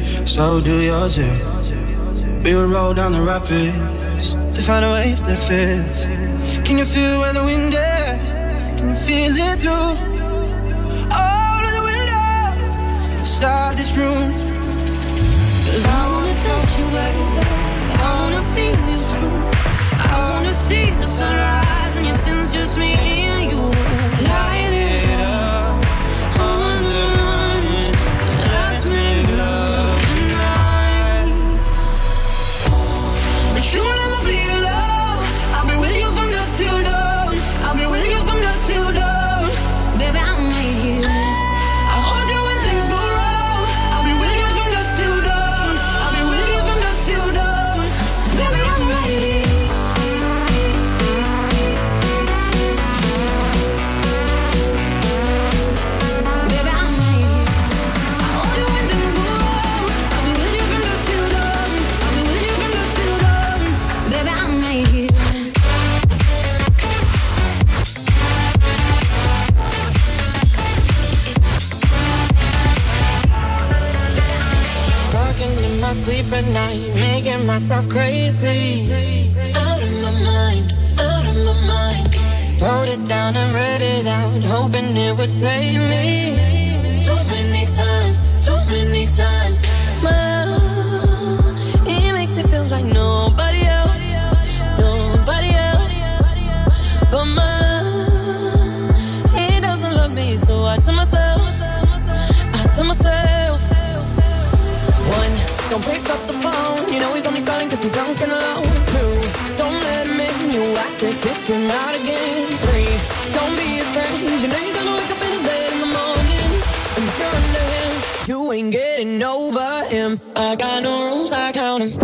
so do yours too. We would roll down the rapids to find a wave that fits. Can you feel where the wind is? Can you feel it through all of the windows inside this room? Cause I wanna touch you, baby, I wanna feel you too. I wanna see the sunrise and your sins, just me and you. Light it up on the run, let's make love tonight. But you'll never be alone. I'll be with you from dusk till dawn. I'll be with you from dusk till dawn. Baby, I'm right here. I'll hold you when things go wrong. I'll be with you from dusk till dawn. I'll be with you from dusk till dawn. Baby, I'm right here. Sleep at night, making myself crazy. Out of my mind, out of my mind. Wrote it down and read it out, hoping it would save me. Too many times, too many times. My love, it makes it feel like nobody else, nobody else. But my love, out again. Three, don't be afraid. You know you're gonna wake up in his bed in the morning. And if you're under him, you ain't getting over him. I got no rules, I count them.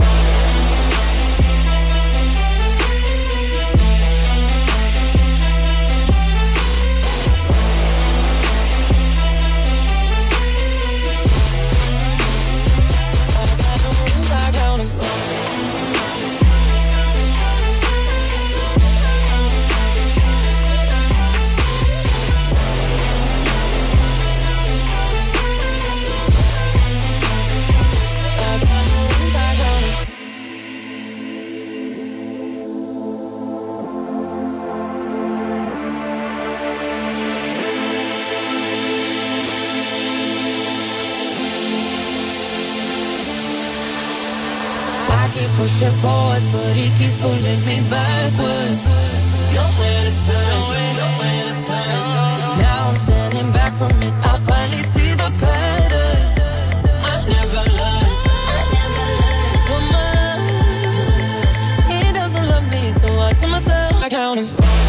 Pushing forwards, but he keeps pulling me backwards. Nowhere to turn, nowhere to turn. Now I'm standing back from it. I finally see the pattern. I never learned, I never learned. Woman, he doesn't love me, so I tell myself I count him.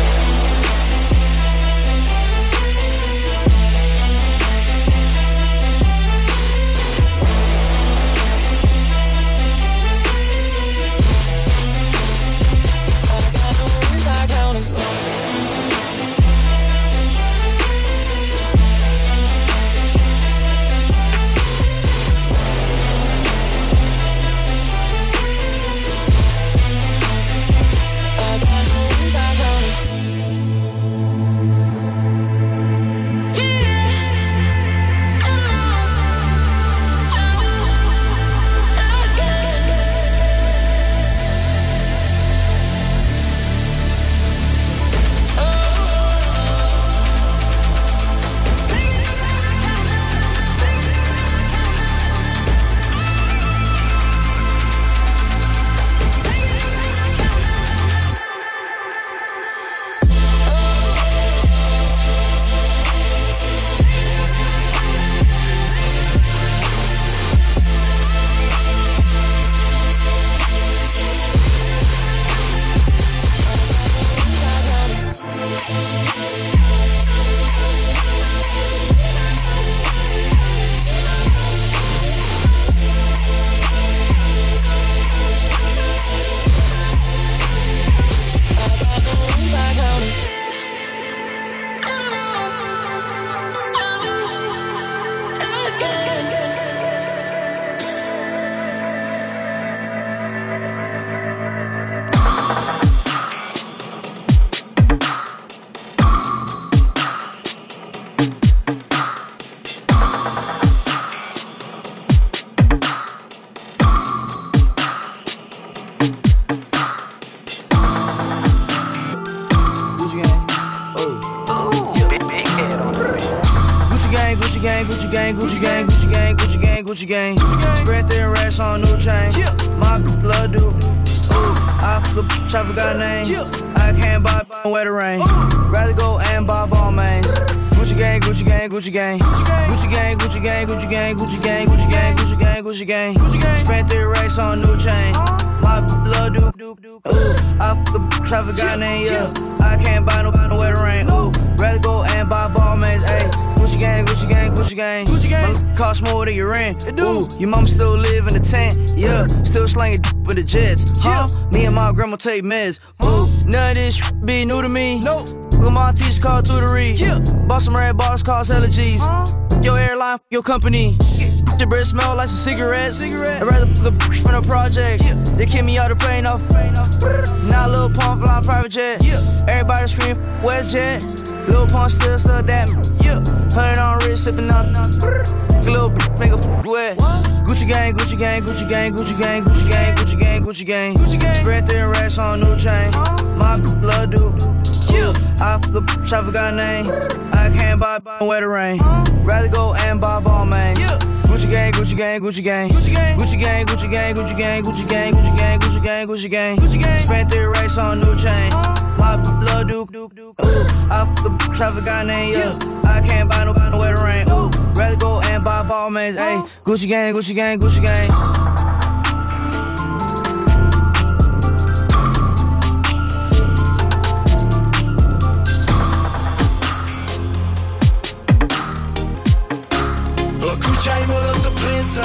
Gucci gang, spread their racks on new chain. My love do. I the I forgot name. I can't buy where the rain. Rather go and buy ball mains. Gucci gang, Gucci gang, Gucci gang, Gucci gang, Gucci gang, Gucci gang, Gucci gang, Gucci gang, Gucci gang, Gucci gang. Spent their racks on new chain. My love do. I the I forgot name. Yeah, I can't buy no where the rain. Ooh, rather go and buy ball mains. Ayy. Gucci gang, Gucci gang, Gucci gang. Gucci gang. My cost more than your rent. It do. Ooh, your mom still live in the tent. Yeah, still slanging with the jets. Huh? Yeah. Me and my grandma take meds. Ooh, none of this be new to me. Nope. Look, my teacher called tutory. Yeah. Bought some red bars, cost hella G's. Huh? Your airline, your company. The breath smell like some cigarettes. Cigarette. I'd rather look from the projects. Yeah. They kick me out the plane off. Now Lil Pump flying private jet. Yeah. Everybody scream WestJet. Lil Pump still stuck that. Yeah. Hundred on wrist sipping on. Little make a wet. Gucci gang, Gucci gang, Gucci gang, Gucci gang, Gucci gang, Gucci gang, Gucci gang. Gucci gang. Spread their racks on new chain. My love do. Yeah. I the I forgot name. I can't buy where the rain. Rather go and buy ball mains. Yeah. Gucci gang, Gucci gang, Gucci gang, Gucci gang, Gucci gang, Gucci gang, Gucci gang, Gucci gang, Gucci gang, Gucci gang, Gucci gang, Gucci gang. Spent their racks on new chain. My love do. Ooh, I the I forgot name. Yeah, I can't buy no where the rain. Ooh, rather go and buy ball mains. Ayy, Gucci gang, Gucci gang, Gucci gang.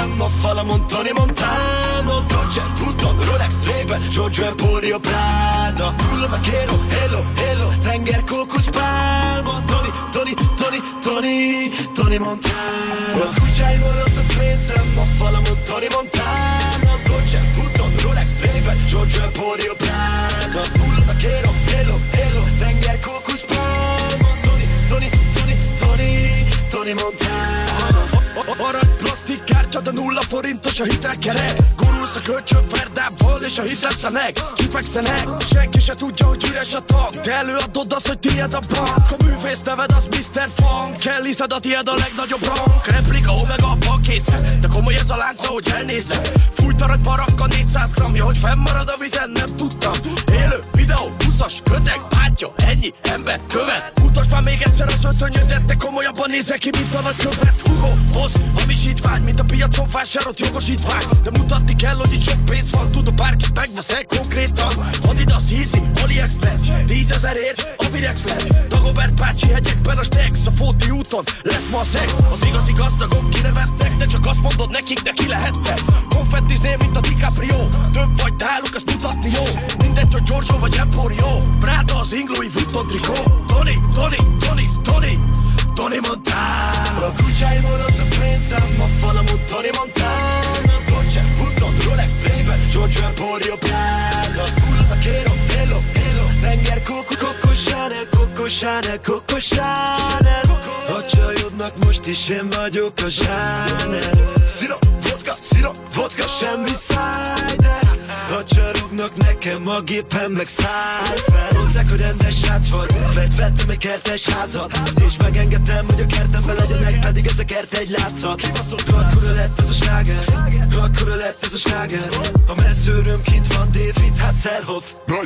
ma fa la Montoni Montano. Dolce, Vuitton, Rolex, Ray-Ban, Giorgio Emporio Prada. Pulo vaquero, hello, hello, Tenger, Cocos, Palmo. Tony, Tony, Tony, Tony, Tony Montano. Tu c'hai molto pensa, ma fa la Montoni Montano. Dolce, Vuitton, Rolex, Ray-Ban, Giorgio Emporio Prada. Pulo vaquero, hello, hello, Tenger, Cocos, Palmo. Tony, Tony, Tony, Tony, Tony Montano. Arany plastik kártya, de nulla forintos a hitelkerek. Gurulsz a kölcsönverdából és a hitetlenek kifekszenek. Senki se tudja, hogy üres a tag, te előadod azt, hogy tiéd a bank. A művész neved az miszter Funk, elhiszed a tiéd a legnagyobb rank. Replika, omega, a bankésze, de komoly ez a lánca, hogy elnézed. Fújt arany barakka négyszáz gramja, hogy fennmarad a vizen, nem tudtam. Élő videó, buszas, köteg, bátya, ennyi ember követ. Mutasd már még egyszer az ötönyödet, de komolyabban nézek ki, mint a nagykövet. Hugo, Boss, hamisítvány, mint a piacon vásárolt jogosítvány. De mutatni kell, hogy itt sok pénz van, tudom bárkit megveszek konkrétan. Adidas, Yeezy, AliExpress, tízezerért a Virexpress. Dagobert bácsi hegyekben a Stex, a Fóti úton lesz ma a szex. Az igazi gazdagok kinevetnek, de csak azt mondod nekik, de ki lehettek. Konfettiznél, mint a DiCaprio, több vagy náluk, azt mutatni jó. Mindegy, hogy Giorgio vagy Emporio, Prada az ing, Louis Vuitton trikó. Tony, Tony, Tony, Tony, Tony Montano. A kutyáim alatt a pénzem, ma fa la Montoni Montano. Dolce, Vuitton, Rolex, Ray-Ban, Giorgio Emporio Prada. Pulo vaquero, hello, hello, Tenger, Coco, Coco Chanel, Coco Chanel, Coco Chanel. A csajodnak most is én vagyok a Chanel. Szira, vodka, szira, vodka, semmi cider. A csarognak nekem a gépen meg száll fel. Mondták, hogy rendes srác vagy, mert vettem egy kertes házat. És megengedtem, hogy a kertemben legyenek, pedig ez a kert egy látszat. Akkora lett ez a sláger, akkora lett ez a sláger. A messzőröm kint van, David Hasselhoff.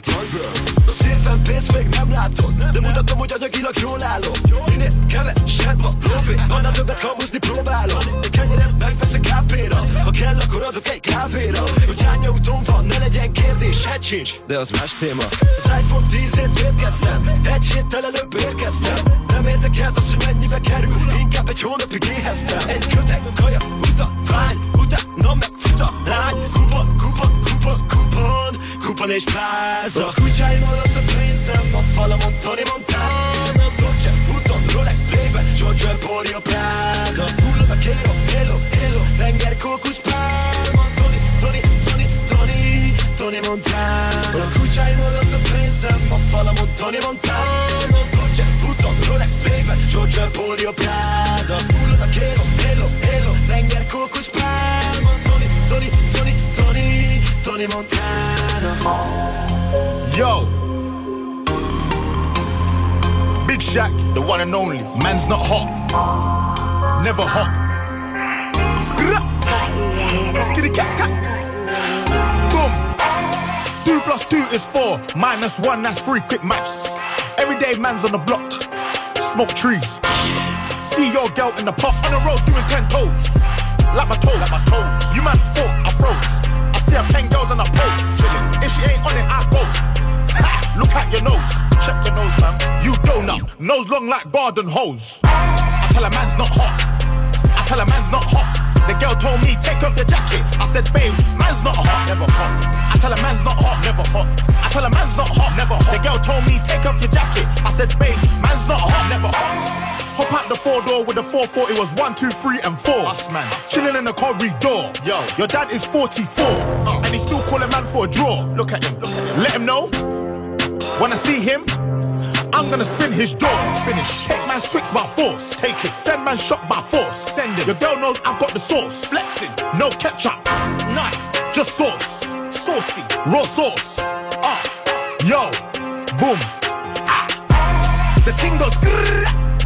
A szépen pénzt még nem látom, de mutatom, hogy anyagilag jól állom. Minél kevesebb a lóvé, annál többet kamuzni próbálom. Egy kenyeret megveszek kápéra, ha kell, akkor adok egy kávéra. Hogy hány autóm van, ne legyen kérdés, hát sincs, de az más téma. Az iPhone tízért védkeztem, egy héttel előbb érkeztem. Nem érdekel az, hogy mennyibe kerül, inkább egy hónapig éheztem. Egy köteg, kaja, uta, vány, utána meg fut a lány. Kupon, kupon, kupon, kupon, kupon és pláza. A kutyáim alatt a pénzem, a fa la Montoni Montano. Dolce, Vuitton, Rolex, Ray-Ban, Giorgio Emporio Prada. Pulo vaquero, hello, hello, Tenger, Cocos, Palmo. Tony, Tony, Tony, Tony, Tony Montano. A kutyáim alatt a pénzem, a fa la Montoni Montano. Dolce, Vuitton, Rolex, Ray-Ban, Giorgio Emporio Prada. Pulo vaquero, hello, hello, Tenger, Cocos, Palmo. Tony, Tony, Tony, Tony, Tony Montano. Yo, Big Shaq, the one and only. Man's not hot, never hot. Skra, skitty cat cat. Boom. Two plus two is four, minus one that's three. Quick maths. Everyday man's on the block, smoke trees. See your girl in the park on the road doing ten toes. Like my toes, like my toes. You man thought I froze. I see a pen girls on a pose, chillin'. If she ain't on it, I boast. Ha! Look at your nose, check your nose, man. You donut, nose long like Barden hose. I tell a man's not hot. I tell a man's not hot. The girl told me take off your jacket. I said, babe, man's not hot, never hot. I tell a man's not hot, never hot. I tell a man's not hot, never hot. The girl told me take off your jacket. I said, babe, man's not hot, never hot. Hop out the four door with the four forty was one, two, three, and four. Us man, chilling in the corridor. Yo, your dad is forty-four, uh. and he still call a man for a draw. Look at him, look at him. Let him know when I see him, I'm gonna spin his jaw. Finish. Take man's Twix by force. Take it. Send man shot by force. Send it. Your girl knows I've got the sauce. Flexing. No ketchup. None. Just sauce. Saucy. Raw sauce. Ah. Uh. Yo. Boom. Ah. The ting goes grrr.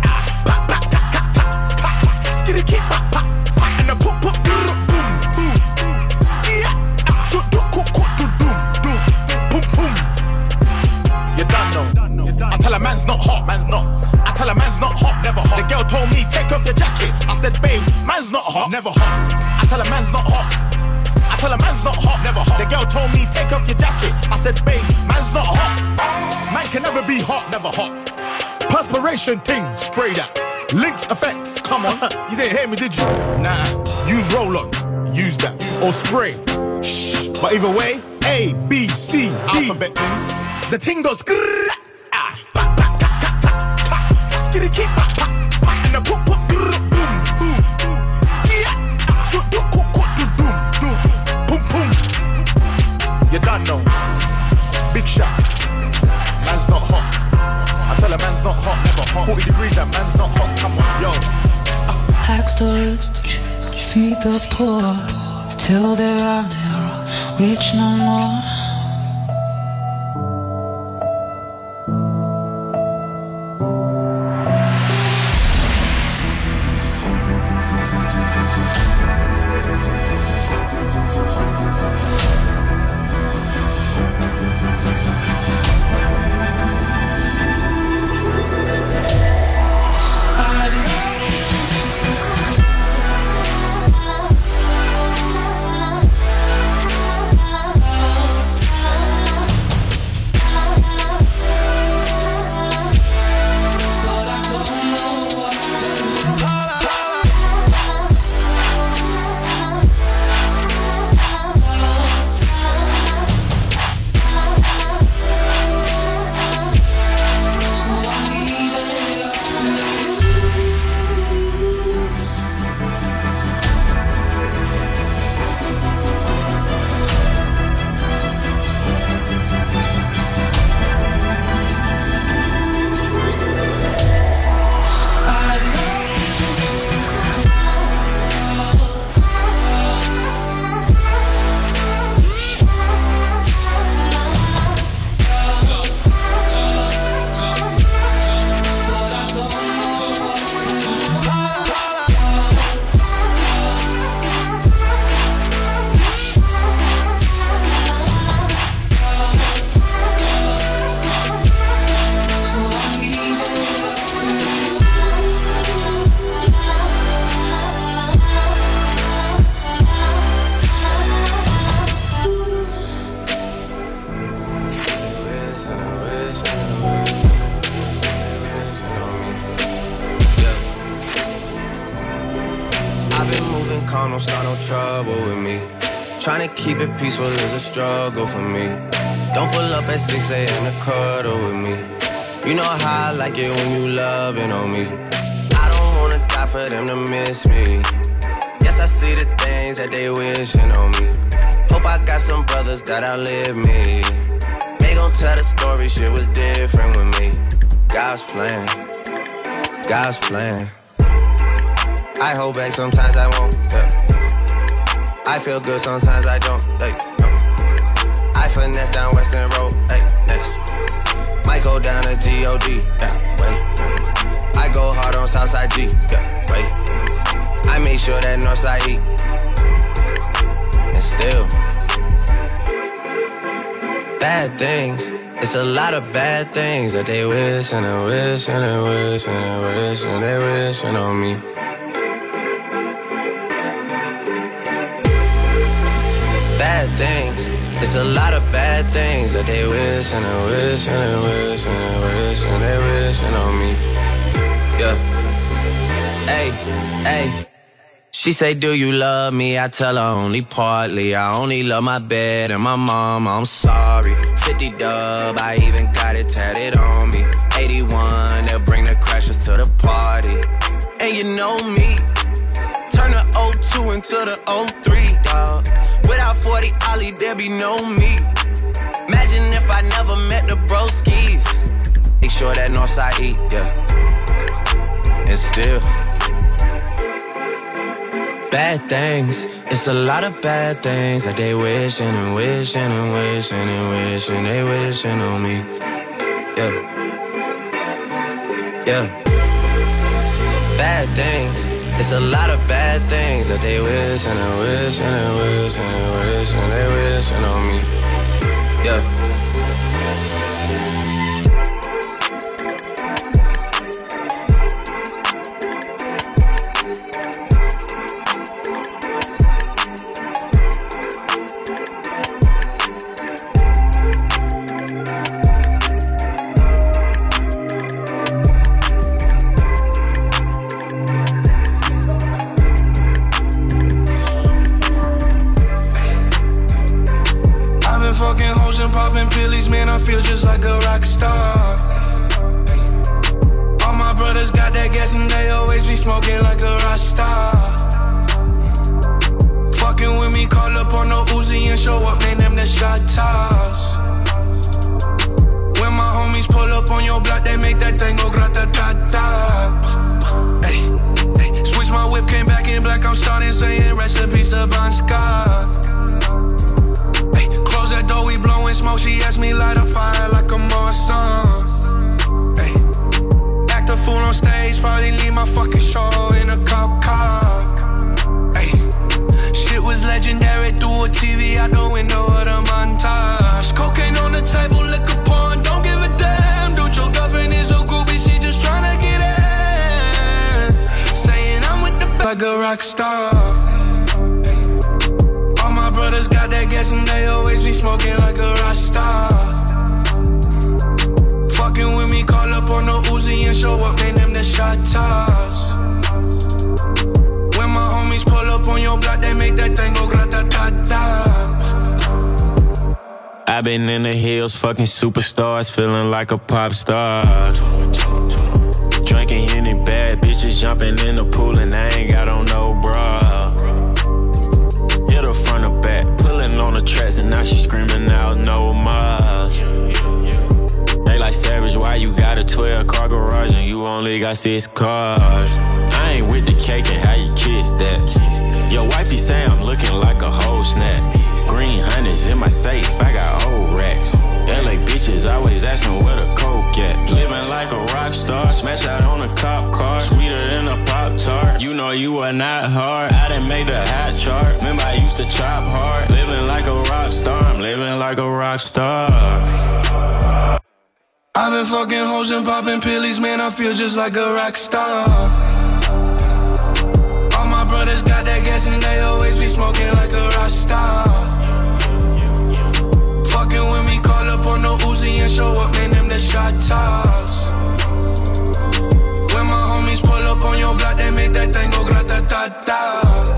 Skitty keep pop pop and the pop pop boom boom boom skia do do cook cook do doom doom boom boom. You done know. I tell a man's not hot, man's not. I tell a man's not hot, never hot. The girl told me take off your jacket. I said, babe, man's not hot, never hot. I tell a man's not hot. I tell a man's not hot, never hot. The girl told me take off your jacket. I said, babe, man's not hot. Man can never be hot, never hot. Perspiration thing, spray that. Lynx effect, come on. You didn't hear me, did you? Nah, use roll on. use that. Or spray. Shh. But either way, A, B, C, D. Alphabet. The ting goes grrrr. Ah. Back, back, ka, ka, ka, ka. Skitty kick, back, back, back. And the pop, pop, grrrr, boom, boom, boom. Skit. Do, do, do, do, do, do. Boom, boom. You done know. Big shot. Man's not hot. I tell a man's not hot, never hot. forty degrees, that man's not hot. Come on, yo. Axe the rich, feed the poor, till they are never rich no more. Trying to keep it peaceful is a struggle for me. Don't pull up at six a.m. to cuddle with me. You know how I like it when you loving on me. I don't wanna die for them to miss me. Yes, I see the things that they wishing on me. Hope I got some brothers that outlive me. They gon' tell the story, shit was different with me. God's plan, God's plan. I hold back, sometimes I won't, yeah. I feel good, sometimes I don't, hey, no. I finesse down Western Road, hey, next. Might go down to G O D, yeah, wait. I go hard on Southside G, yeah, wait. I make sure that Northside E. And still bad things, it's a lot of bad things that they wish and they wish and they wish and they wish and they wishing on me. Bad things, it's a lot of bad things that they wish and they wish and they wish and they wish and they wishing on me. Yeah. Hey, hey. She say, do you love me? I tell her only partly. I only love my bed and my mom, I'm sorry. fifty dub, I even got it tatted on me. eighty-one, they'll bring the crashers to the party. And you know me, turn the oh two into the oh three, dawg. Without forty Ollie, there be no me. Imagine if I never met the broskies. Make sure that Northside E, yeah. And still bad things, it's a lot of bad things that they wishing and wishing and wishing and wishing they wishing on me. Yeah, yeah. Bad things, it's a lot of bad things that they wish and they wish and they wish and they wish and they wishing on me. Yeah. feel just like a rock star. All my brothers got that gas and they always be smoking like a rock star. Fucking with me, call up on no Uzi and show up, name them the shot toss. When my homies pull up on your block, they make that thing go grata-ta-ta. Ay, ay. Switch my whip, came back in black, I'm starting saying recipes to Bon Scott. Ay, close that door, we blowing smoke, she asked me light a fire like a Marsan. Ay, act a fool on stage, probably leave my fucking show in a cop car. Ay, shit was legendary through a T V out the window of the montage. Cocaine on the table, liquor porn, don't give a damn. Dude, your girlfriend is a groupie, she just tryna get in. Saying I'm with the b- like a rock star. All my brothers got that gas and they always be smoking like a rock star. Fucking with me, call up on no Uzi and show up, name them the shot toss. When my homies pull up on your block, they make that thing go grata-ta-ta. I've been in the hills, fucking superstars, feeling like a pop star. Drinking Henny, bad bitches jumping in the pool and I ain't got on no bra. Hit her front or back, pulling on the tracks and now she screaming out no more. They like Savage, why you got a twelve car garage and you only got six cars? I ain't with the cake and how you kiss that. Your wifey say I'm looking like a whole snap. Green hundreds in my safe, I got old racks. L A bitches always asking where the coke at. Living like a rock star, smash out on a cop car. Sweeter than a Pop-Tart, you know you are not hard. I didn't make the hot chart, remember I used to chop hard. Living like a rock star, I'm living like a rock star. I've been fucking hoes and popping pillies, man, I feel just like a rock star. All my brothers got that gas and they always be smoking like a rock star. Fucking with me, call up on no Uzi and show up, name them the shot toss. When my homies pull up on your block, they make that thing go grata-ta-ta.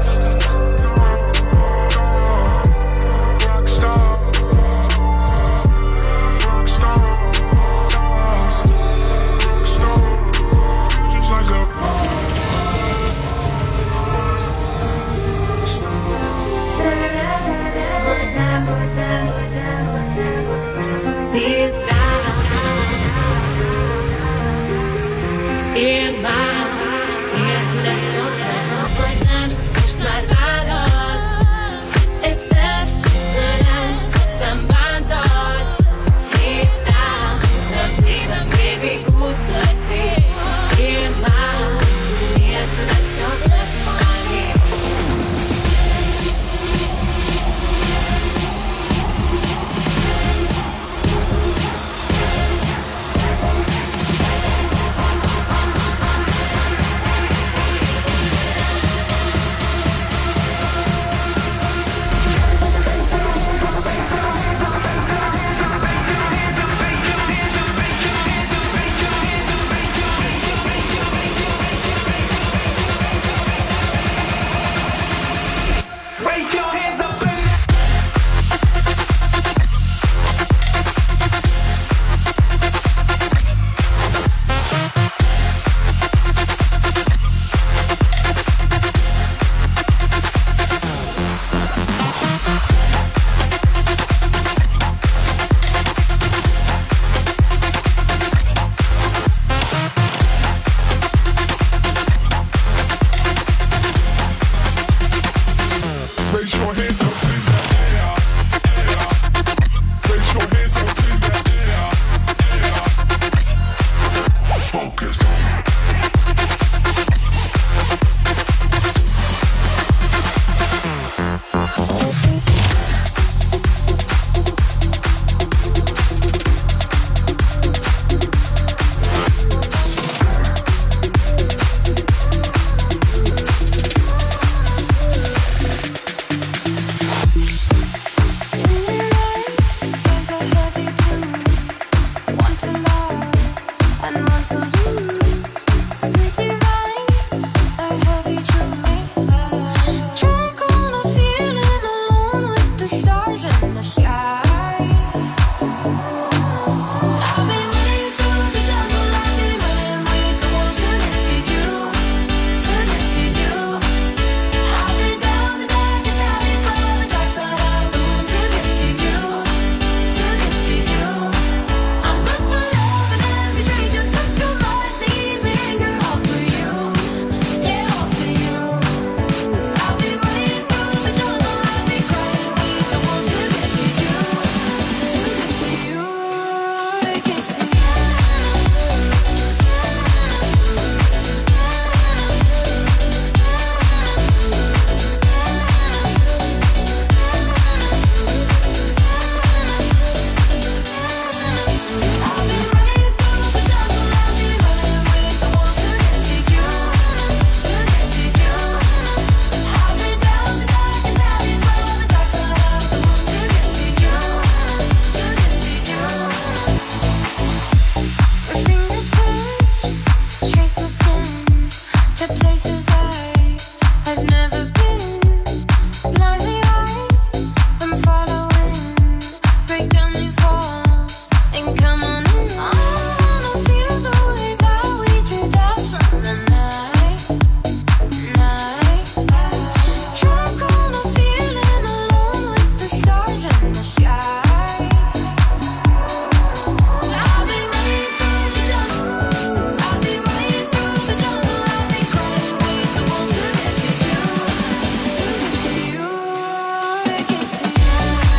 In my, in that my skin to places I, I've never been. Blindly I am following. Break down these walls and come on in. I wanna feel the way that we did that summer night, night. Drunk on a feeling alone with the stars in the sky. I'll be running through the jungle. I'll be running through the jungle. I'll be crying with the wolves to get to you, to get to you, to get to you.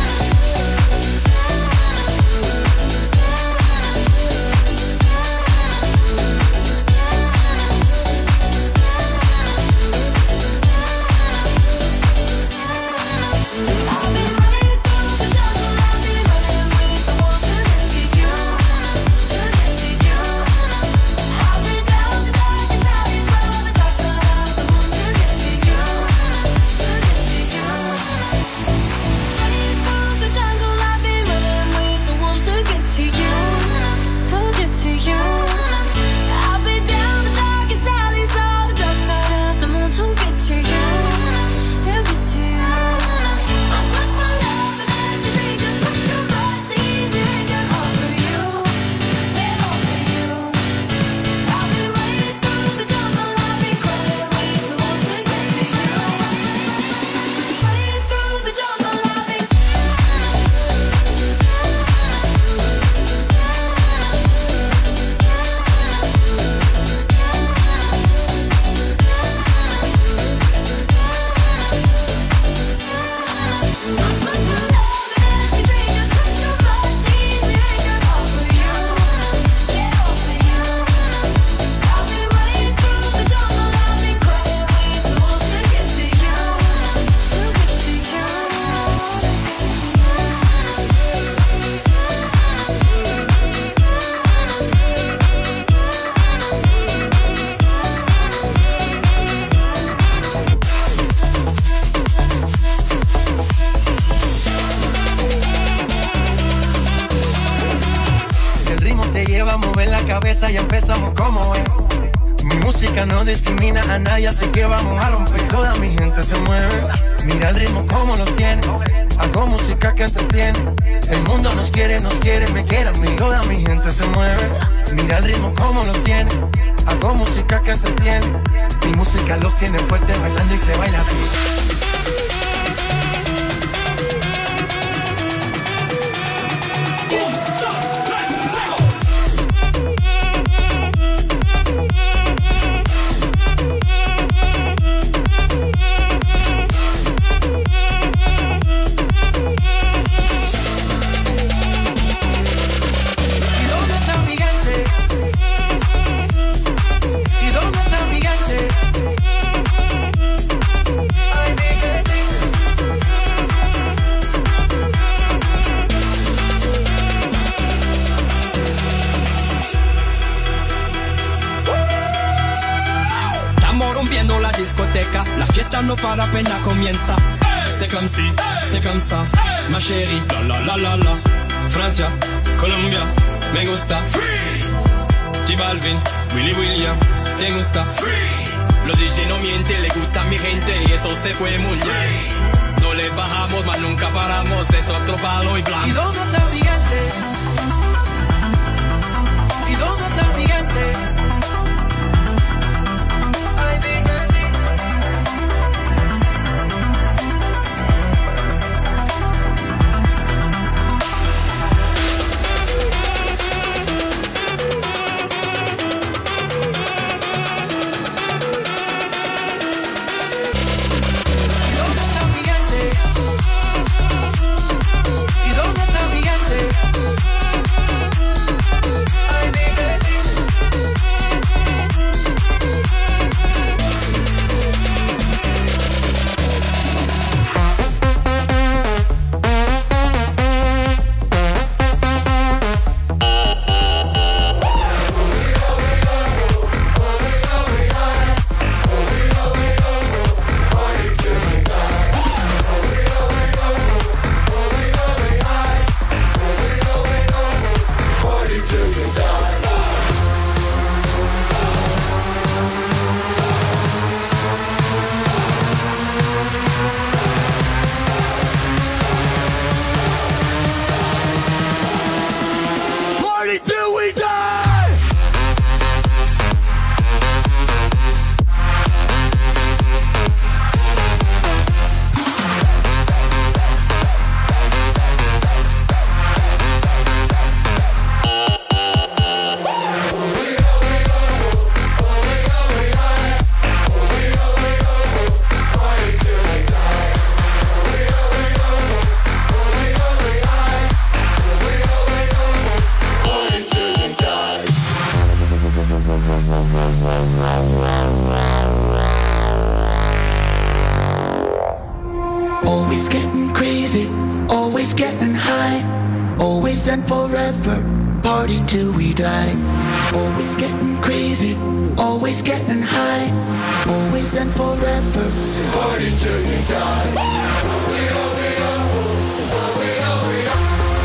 I'll be running through the jungle. I'll be running with the wolves to get to you, to get to you. I'll be down the darkest alleys on the dark side of the moon to get to you, to get to you. Running through the jungle. I'll be running with the wolves to get to you, to get to you. I'll be down the darkest alleys on the dark side of the moon to get to you, to get to you. I put my love in every dream, just put your voice easy and all for you, yeah, all for you. I'll be running through the jungle, I'll be crying with the wolves to get to you. Running through the jungle, I'll be. Si el ritmo te lleva a mover la cabeza, ya empezamos como es. Mi música no discrimina a nadie, así que vamos a romper. Toda mi gente se mueve. Mira el ritmo como los tiene. Hago música que entretiene. El mundo nos quiere, nos quiere, me quiere a mí. Toda mi gente se mueve. Mira el ritmo como los tiene. Hago música que entretiene. Mi música los tiene fuerte bailando y se baila así. ¿Y dónde está mi gente? ¿Y dónde está mi gente? Ay, mi gente. Estamos rompiendo la discoteca, la fiesta no para, apenas comienza. C'est comme si, c'est comme ça, ma chérie, la la la la la. Francia, Colombia, me gusta. Freeze. J Balvin, Willy William, te gusta. Freeze. Los D J no mienten, le gusta a mi gente y eso se fue muy bien. No le bajamos, mas nunca paramos, es otro palo y blanco. ¿Y dónde está mi gente? ¿Y dónde está mi gente? Ay, mi gente. ¿Y dónde está mi gente? ¿Y dónde está mi gente? Always getting crazy, always getting high, always and forever, party till we die. Always getting crazy, always getting high, always and forever, party till we die. We are, we are, we are, we are.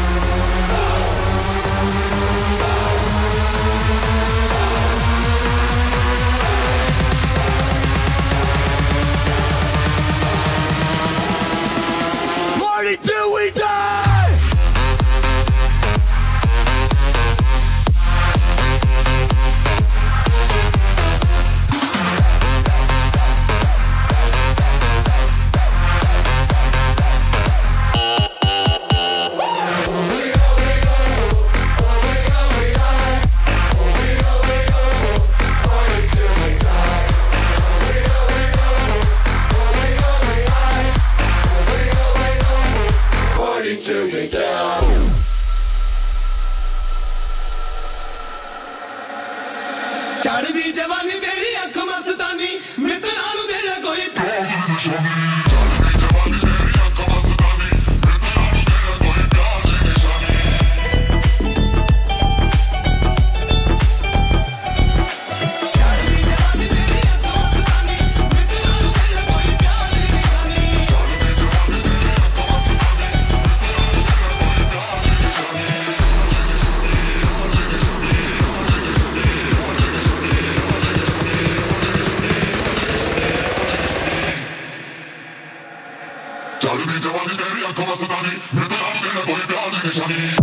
Party till we die! Till we down. चढ़ दी जवानी तेरी अख मस्तानी मित्रा नु तेरा कोई जवानी तेरी आंखों में सतानी मैं तेरा तेरा कोई प्यार नहीं निशानी